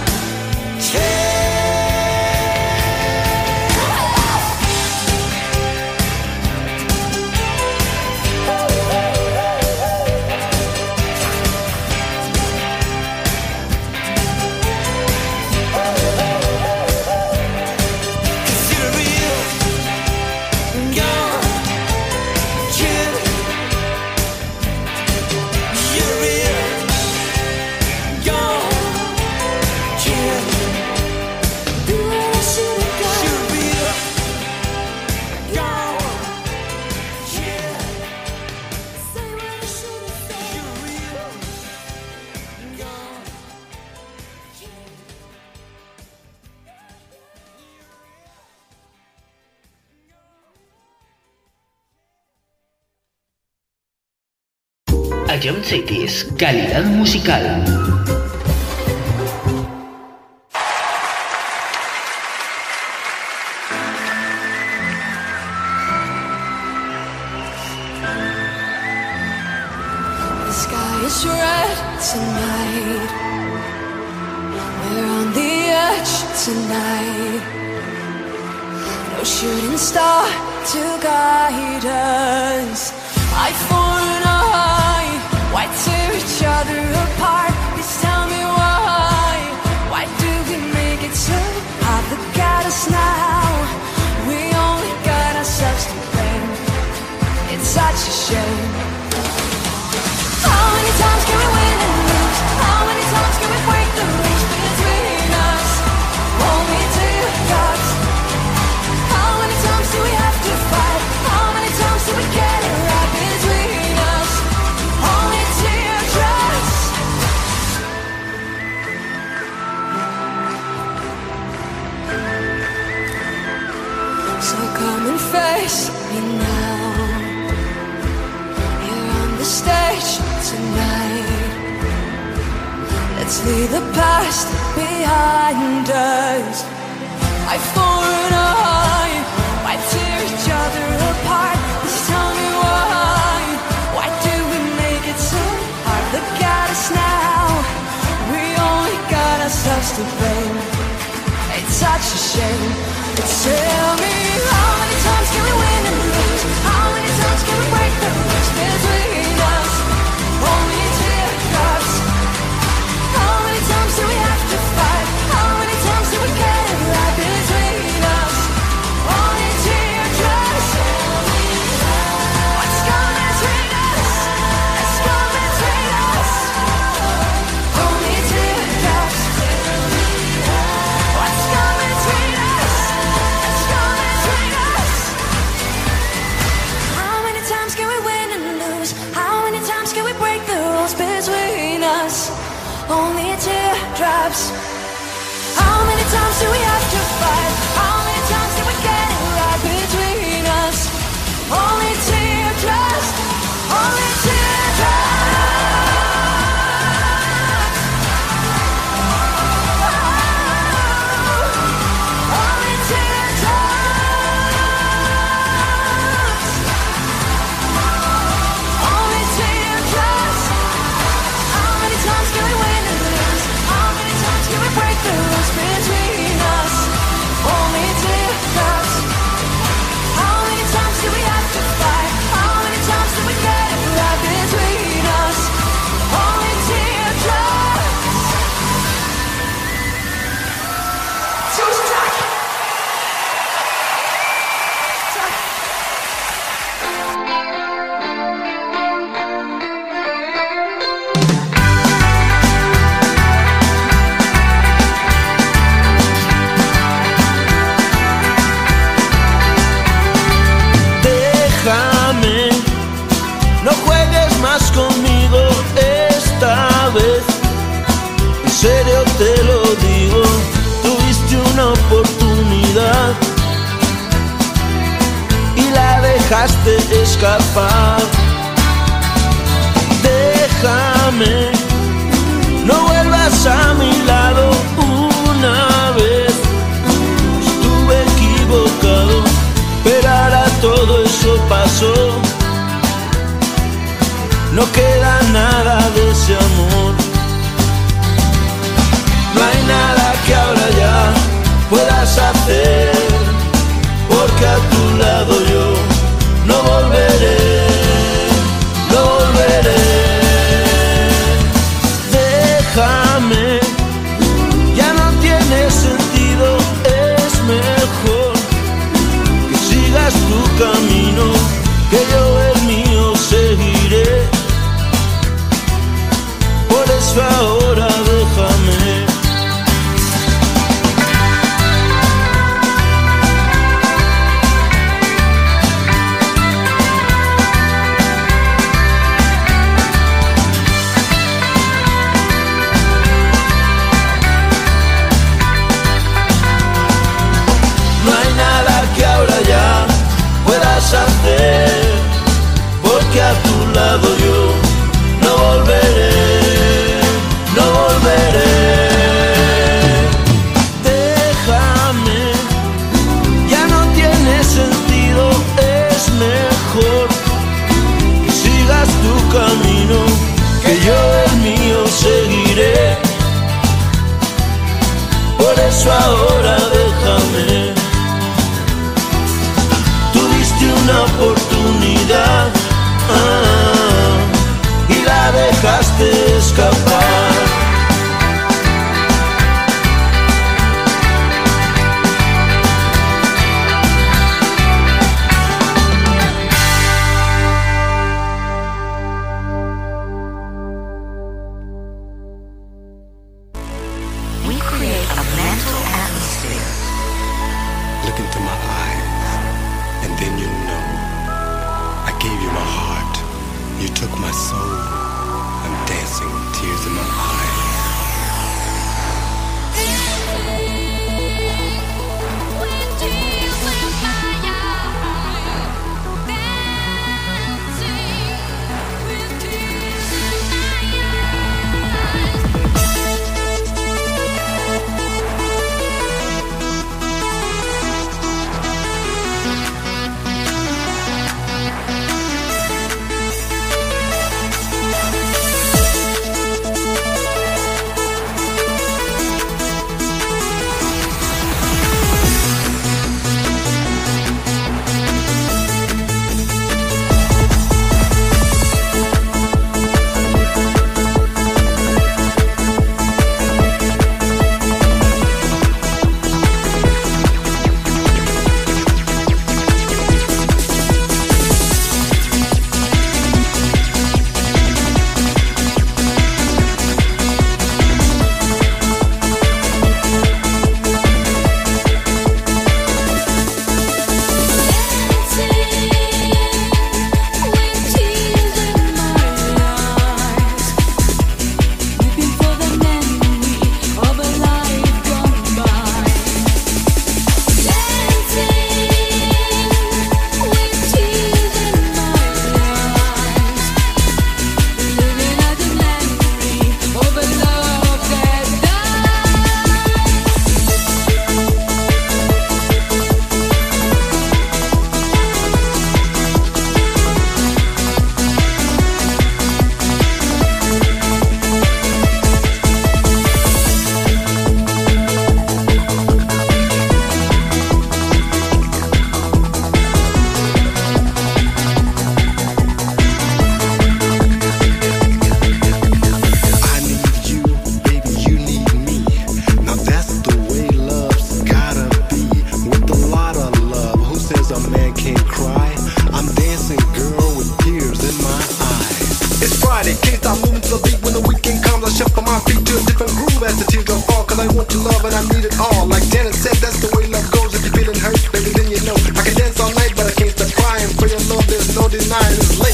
Ion Cities, calidad musical. The sky is red tonight. We're on the edge tonight. No shooting star to guide us. I fall in a high. Why tear each other apart? Please tell me why. Why do we make it so hard? Look at us now. We only got ourselves to blame. It's such a shame. How many times can we win and lose? How many times can we break the rules between us? Only teardrops. How many times do we have to fight? How many times do we get it right between us? Only teardrops. So come and face me now. You're on the stage tonight. Let's leave the past behind us. I fall in a high. Why tear each other apart? Please tell me why. Why do we make it so hard? Look at us now. We only got ourselves to blame. It's such a shame. Tell me, how many times can we win and lose? How many times can we break the rules between us? Only teardrops. How many times do we have to fight? How many times do we get it right between us? Only teardrops. What's gonna between us? What's gonna between us? Only teardrops. What's gonna between us? What's gonna between us? How many times can we win and lose? How many times can we break the rules between us? Only teardrops. How many times do we have to fight? How many times do we get it right between us? Only teardrops. Only teardrops. Only teardrops. Only teardrops. How many times can we win and lose? How many serio te lo digo, tuviste una oportunidad y la dejaste escapar. Déjame, no vuelvas a mi lado una vez. Estuve equivocado, pero ahora todo eso pasó. No queda nada de ese amor. No hay nada que ahora ya puedas hacer, porque a tu lado yo no volveré, no volveré. Déjame, ya no tiene sentido, es mejor que sigas tu camino, que yo el mío seguiré. Por eso ahora déjame. Hacer, porque a tu lado yo no volveré, no volveré. Déjame, ya no tiene sentido, es mejor que sigas tu camino, que yo el mío seguiré. Por eso ahora déjame. Una oportunidad y la dejaste escapar. We create a mental atmosphere. Look into my eyes, and then you know. I gave you my heart. You took my soul. I'm dancing with tears in my eyes.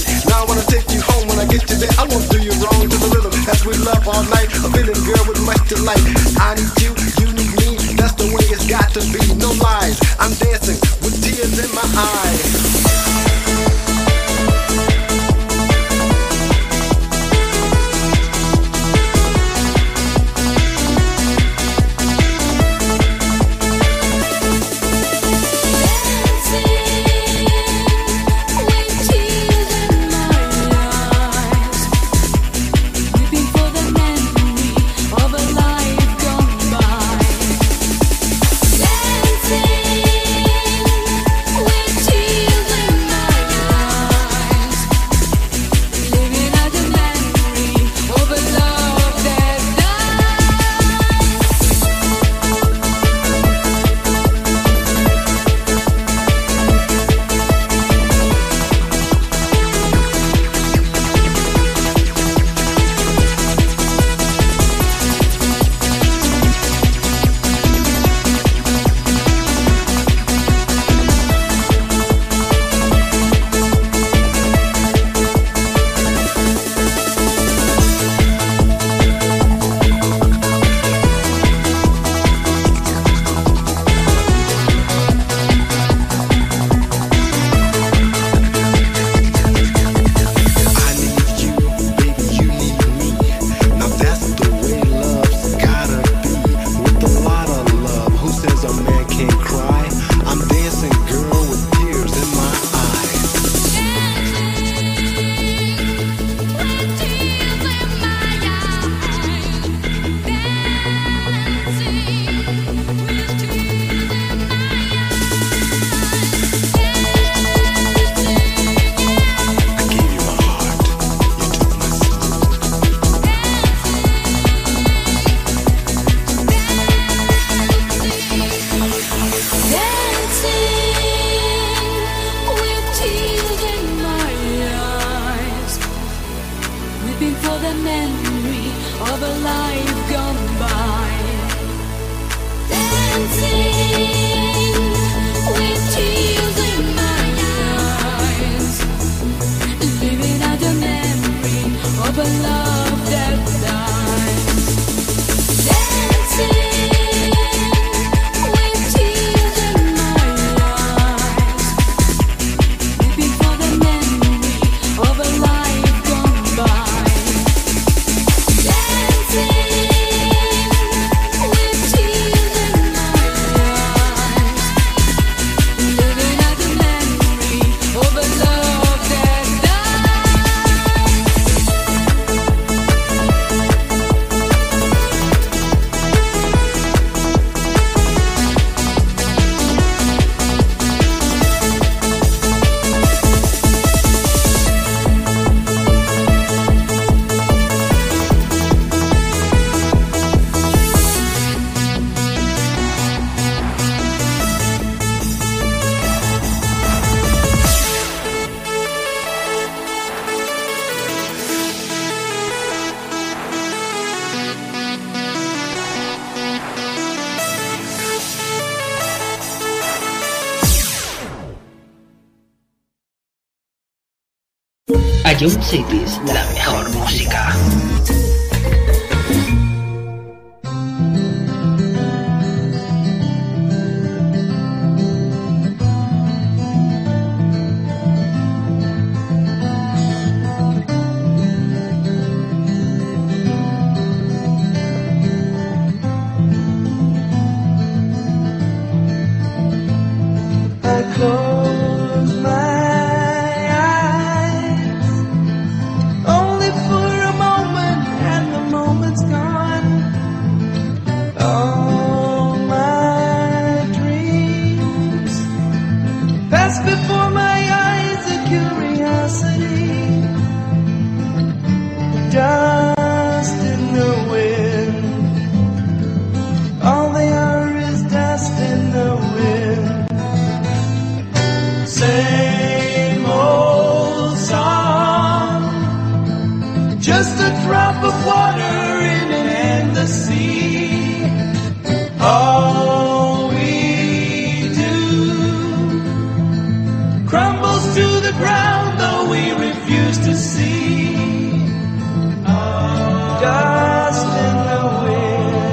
all night. A feeling girl with much to life. I need you, you need me. That's the way it's got to be. No lies. I'm dancing with tears in my eyes. Young Cities, la mejor música. Dust in the wind.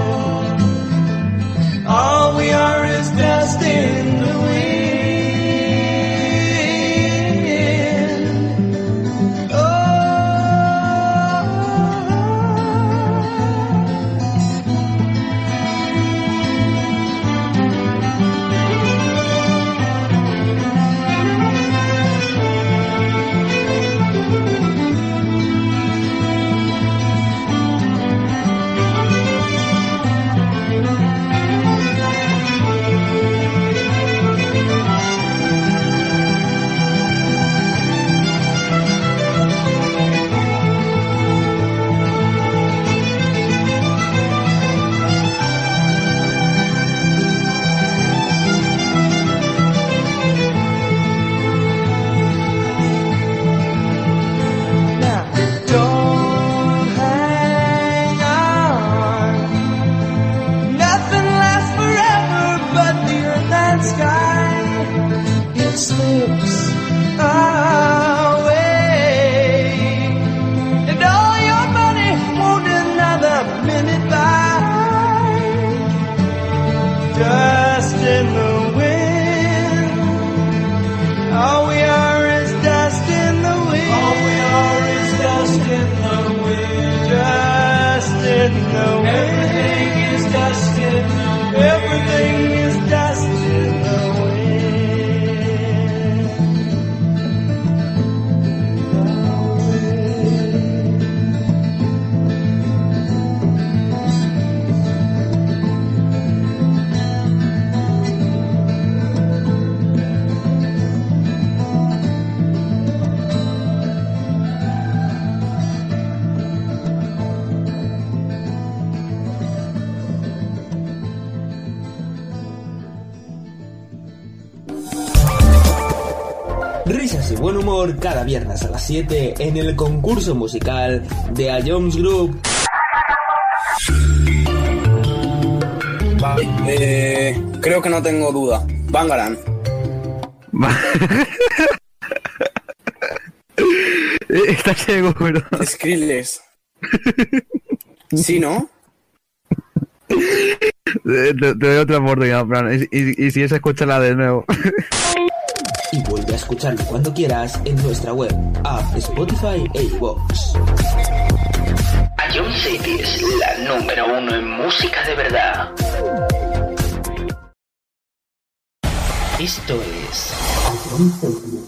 Risas y buen humor cada viernes a las 7 en el concurso musical de A Jones Group. Vale, creo que no tengo duda. Bangarang. ¿Estás seguro? Skrillex. ¿Sí, no? Te doy otra oportunidad, Fran. Y si es, escúchala de nuevo. Y vuelve a escucharlo cuando quieras en nuestra web, app, Spotify e iVoox. A John City es la número 1 en música de verdad. Esto es A John City.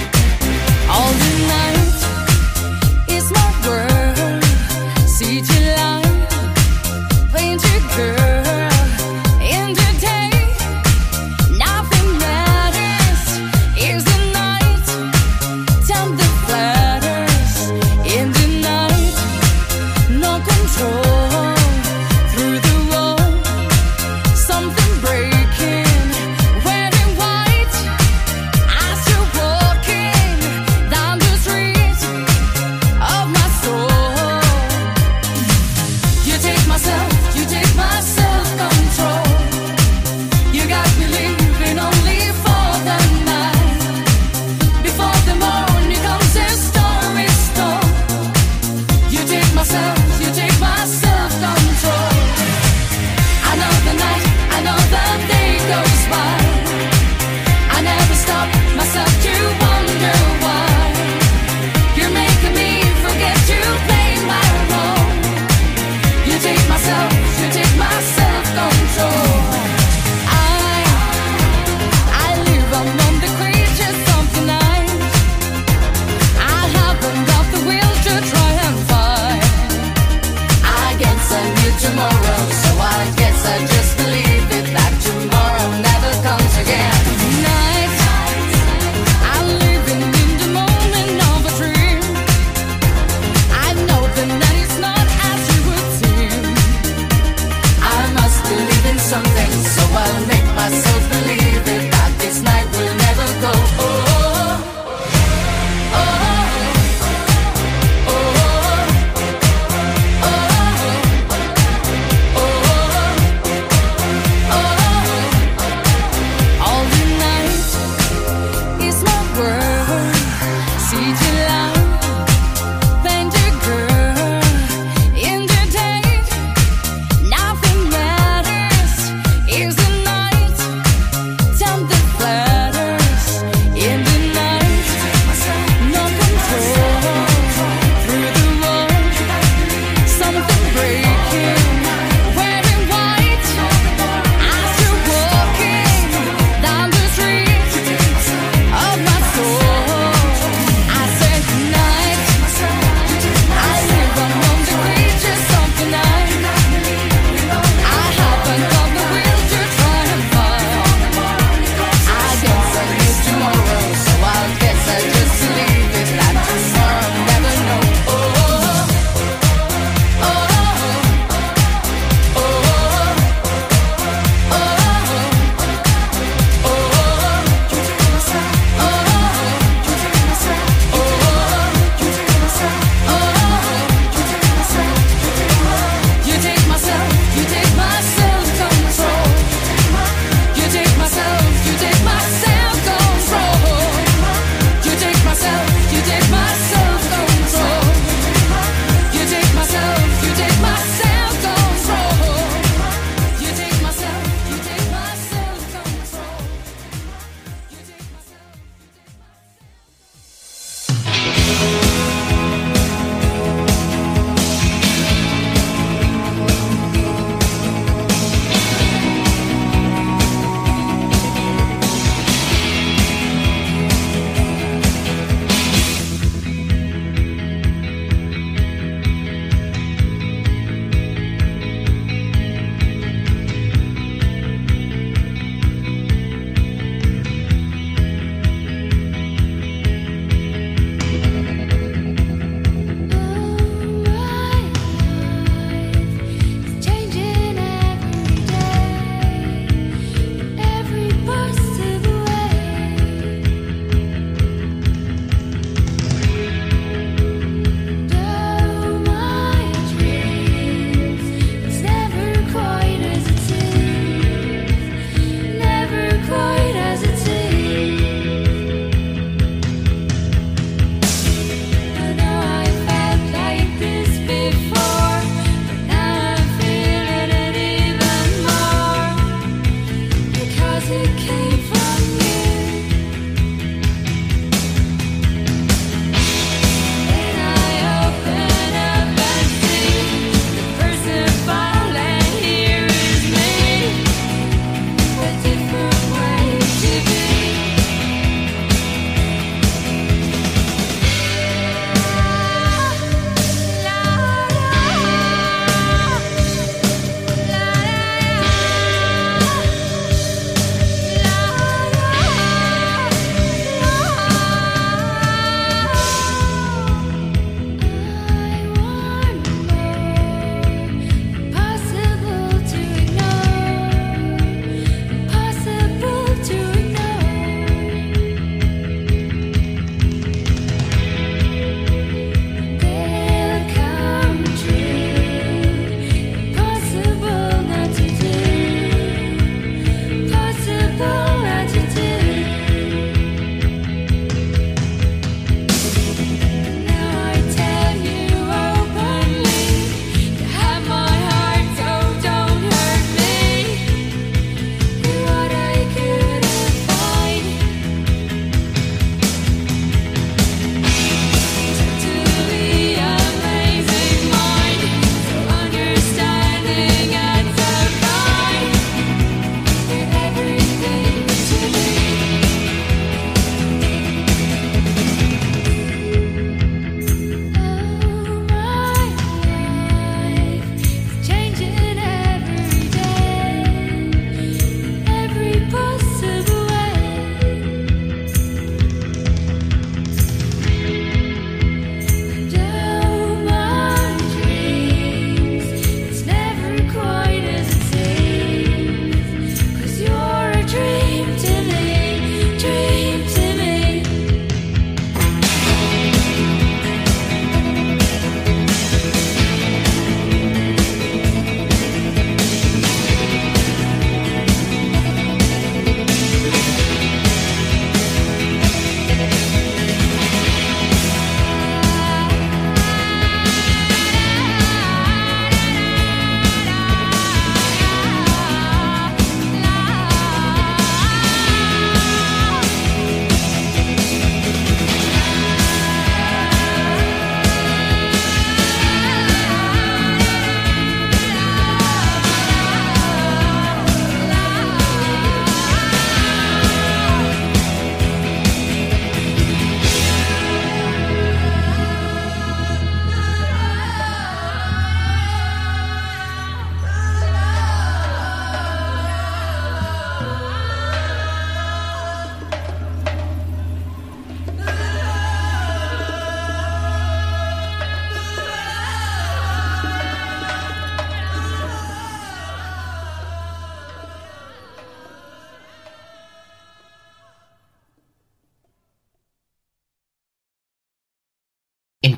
All the night is my world. See you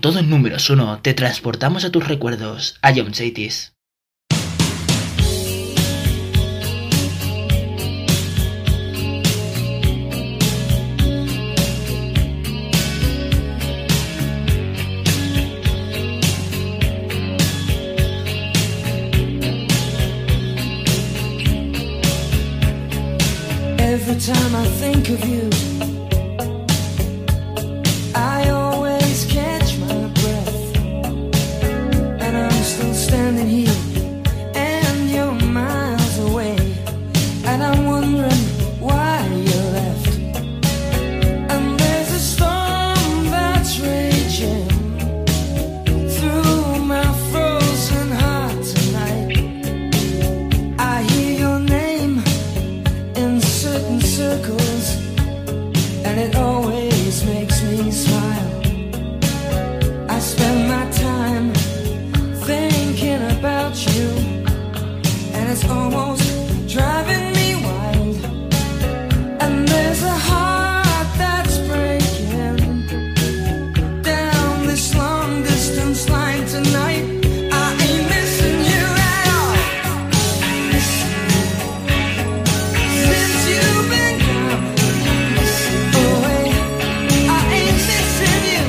todo en números 1 te transportamos a tus recuerdos, a Young Cities. Every time I think of you, I always catch my breath, and I'm still standing here, and you're miles away, and I'm wondering why you left. And there's a storm that's raging through my frozen heart tonight. I hear your name in certain circles, and it always makes me smile. I spend my time thinking about you, and it's almost driving me wild. And there's a heart that's breaking down this long distance line tonight. I ain't missing you at all. Since you've been gone away, I ain't missing you.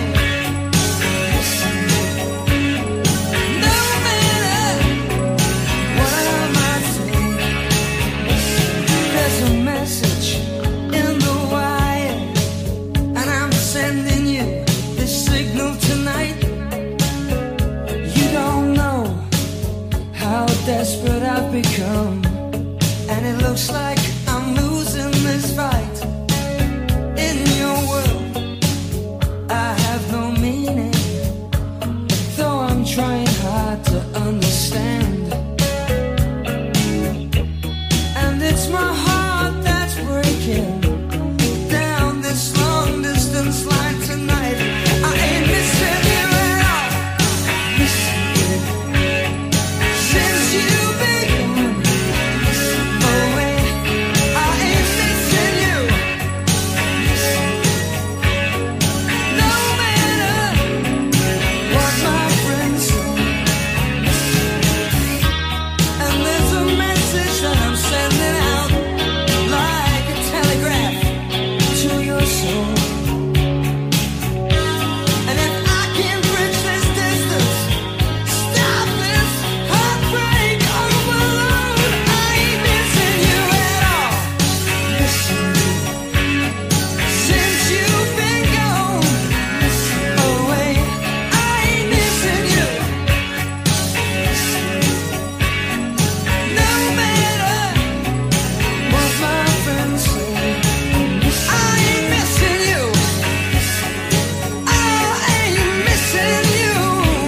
No matter what I might say, there's a message in the wire, and I'm sending you this signal tonight. You don't know how desperate I've become, and it looks like I'm losing this fight. In your world, I have no meaning, though I'm trying hard to understand. And it's my heart that's breaking down this long distance line tonight. I ain't missing you at all. Missing you. Since you've been gone away, I ain't missing you. No matter what my friends say, and there's a message that I'm sending out like a telegraph to your soul. And if I can bridge this distance, stop this heartbreak on the balloon, I ain't missing you at all. Missing you. Since you've been gone away, I ain't missing you. No matter what my friends say, I ain't missing you. I ain't missing you.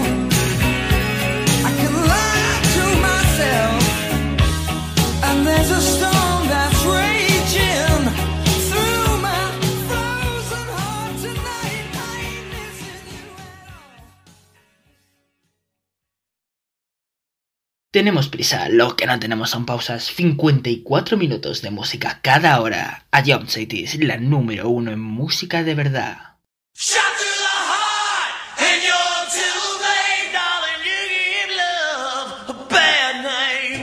I can lie to myself, and there's a storm that's raging through my frozen heart tonight. I ain't missing you at all. Tenemos prisa, lo que no tenemos son pausas. 54 minutos de música cada hora. A Young Cities, la número 1 en música de verdad. Shot through the heart, and you're too late, darling. You give love a bad name.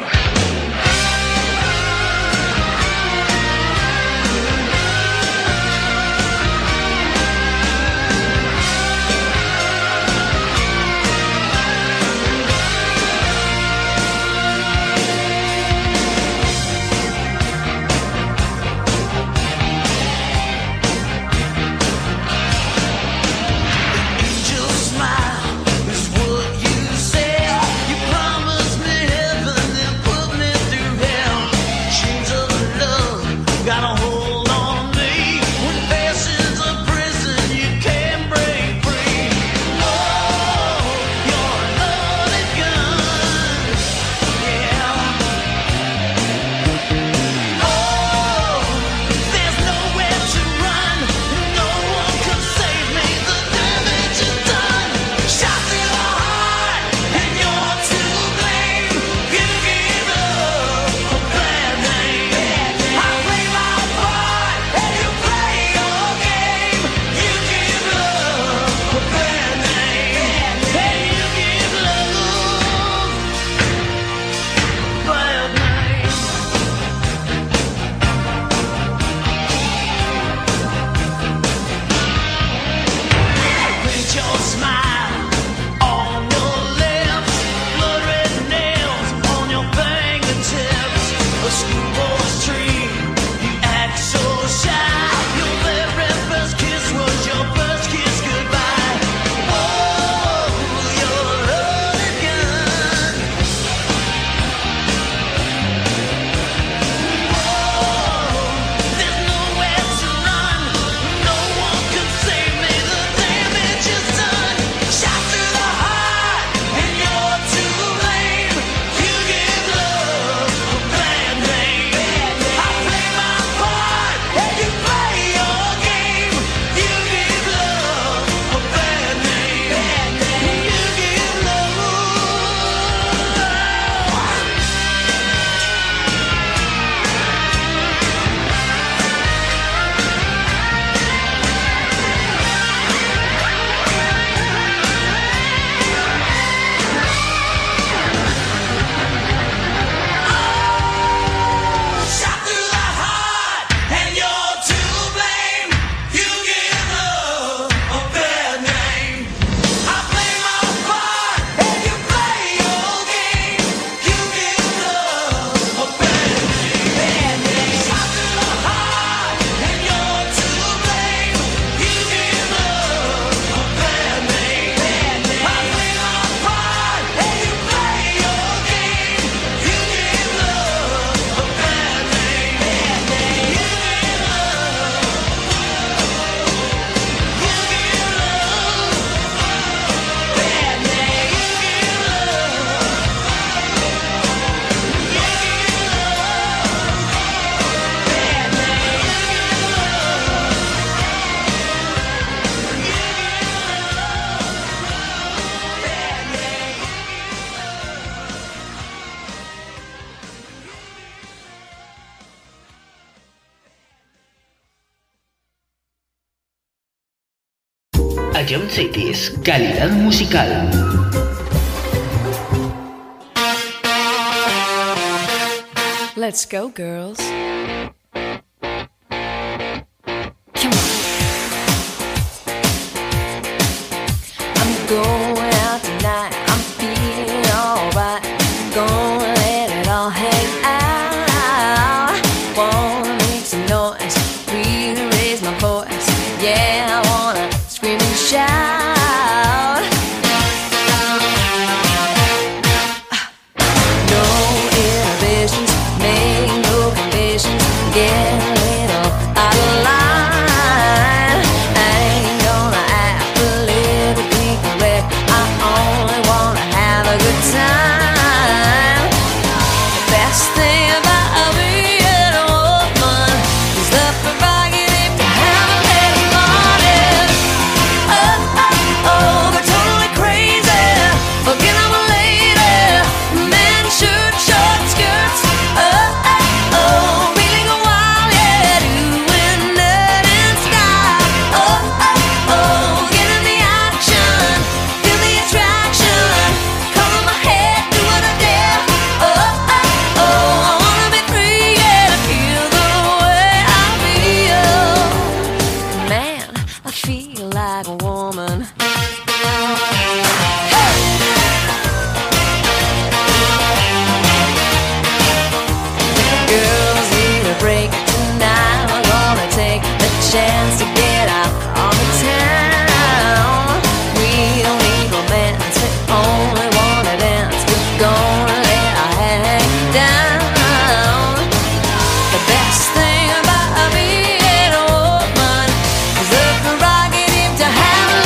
Ion Cities, calidad musical. Let's go, girls. I'm going out tonight. I'm feeling alright. Gonna let it all hang out. Wanna make some noise, really raise my voice. Yeah, I wanna scream and shout. No inhibitions, make no conditions. Get a little out of line. I ain't gonna act politically correct. I only wanna have a good time. The best thing about being a woman is the prerogative to have a little morning. Oh, oh, oh, they're totally crazy. Forget I'm a lady. Men shirt, short skirts. Oh, oh, oh, feeling a wild, yeah, doing it in style. Oh, oh, oh, get in the action, feel the attraction. Color my hair, do what I dare. Oh, oh, oh, I wanna be free, yeah, to feel the way I feel. Man, I feel like a woman. Girls need a break tonight. We're gonna take the chance to get out on the town. We don't need romance, we only wanna dance. We're gonna let our hair hang down. The best thing about being a woman is the prerogative to have a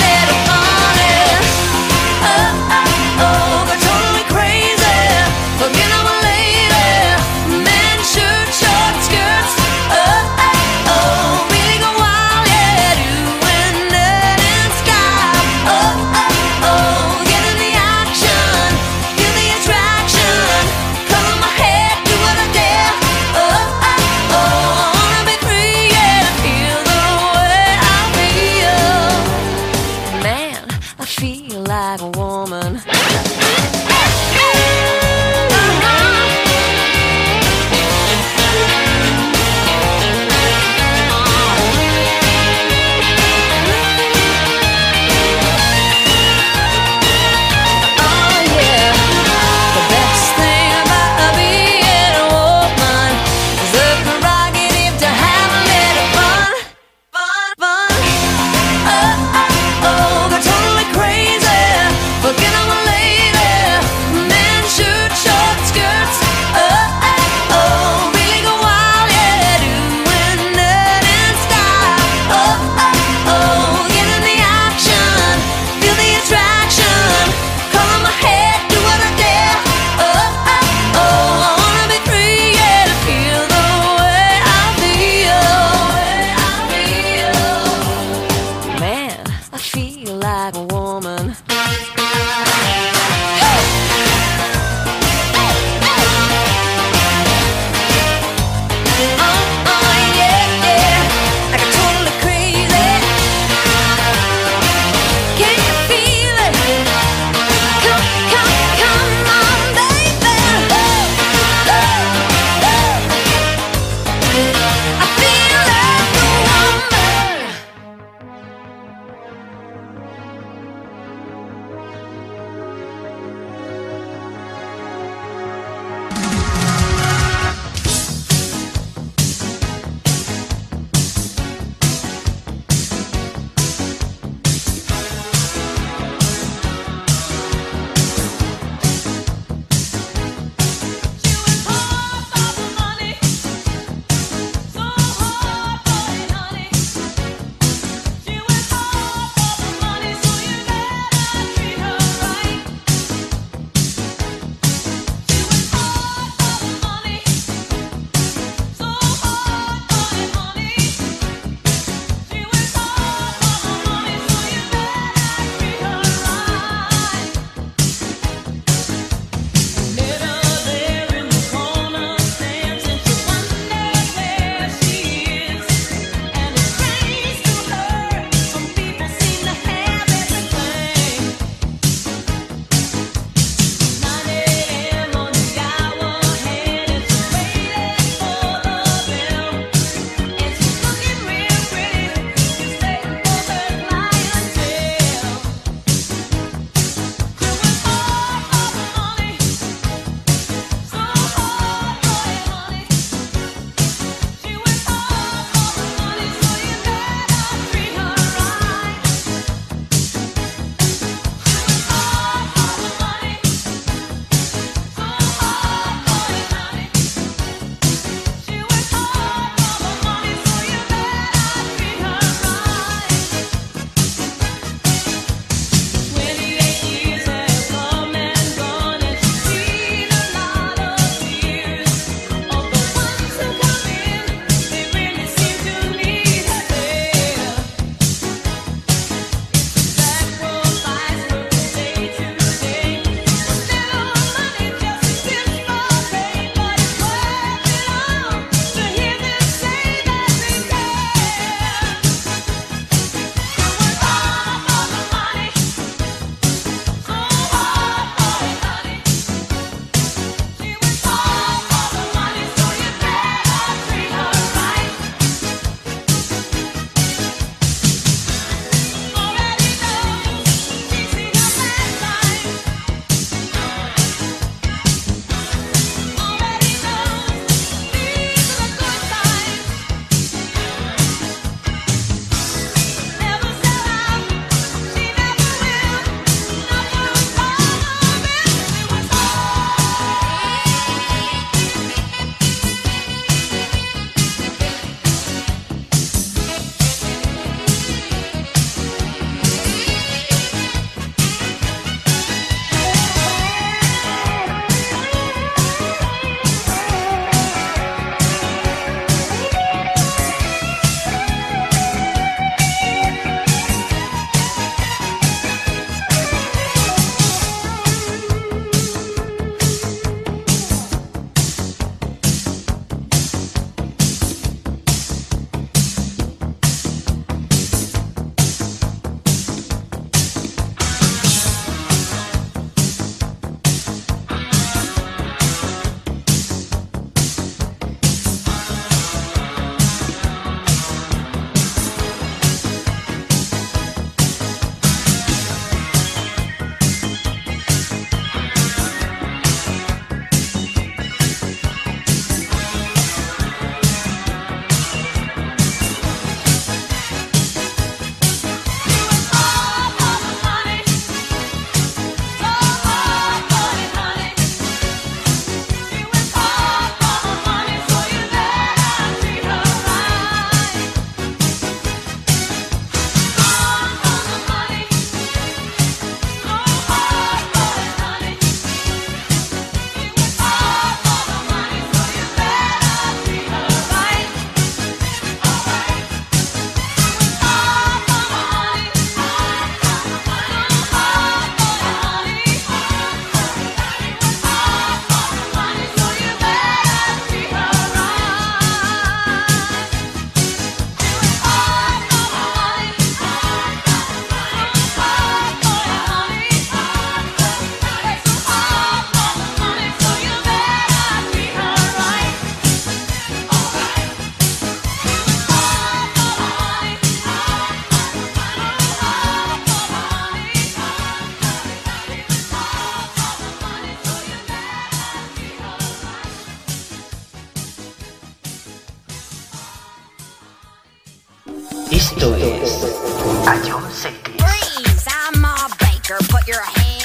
Esto es A John City. Freeze, I'm Ma Baker. Put your hands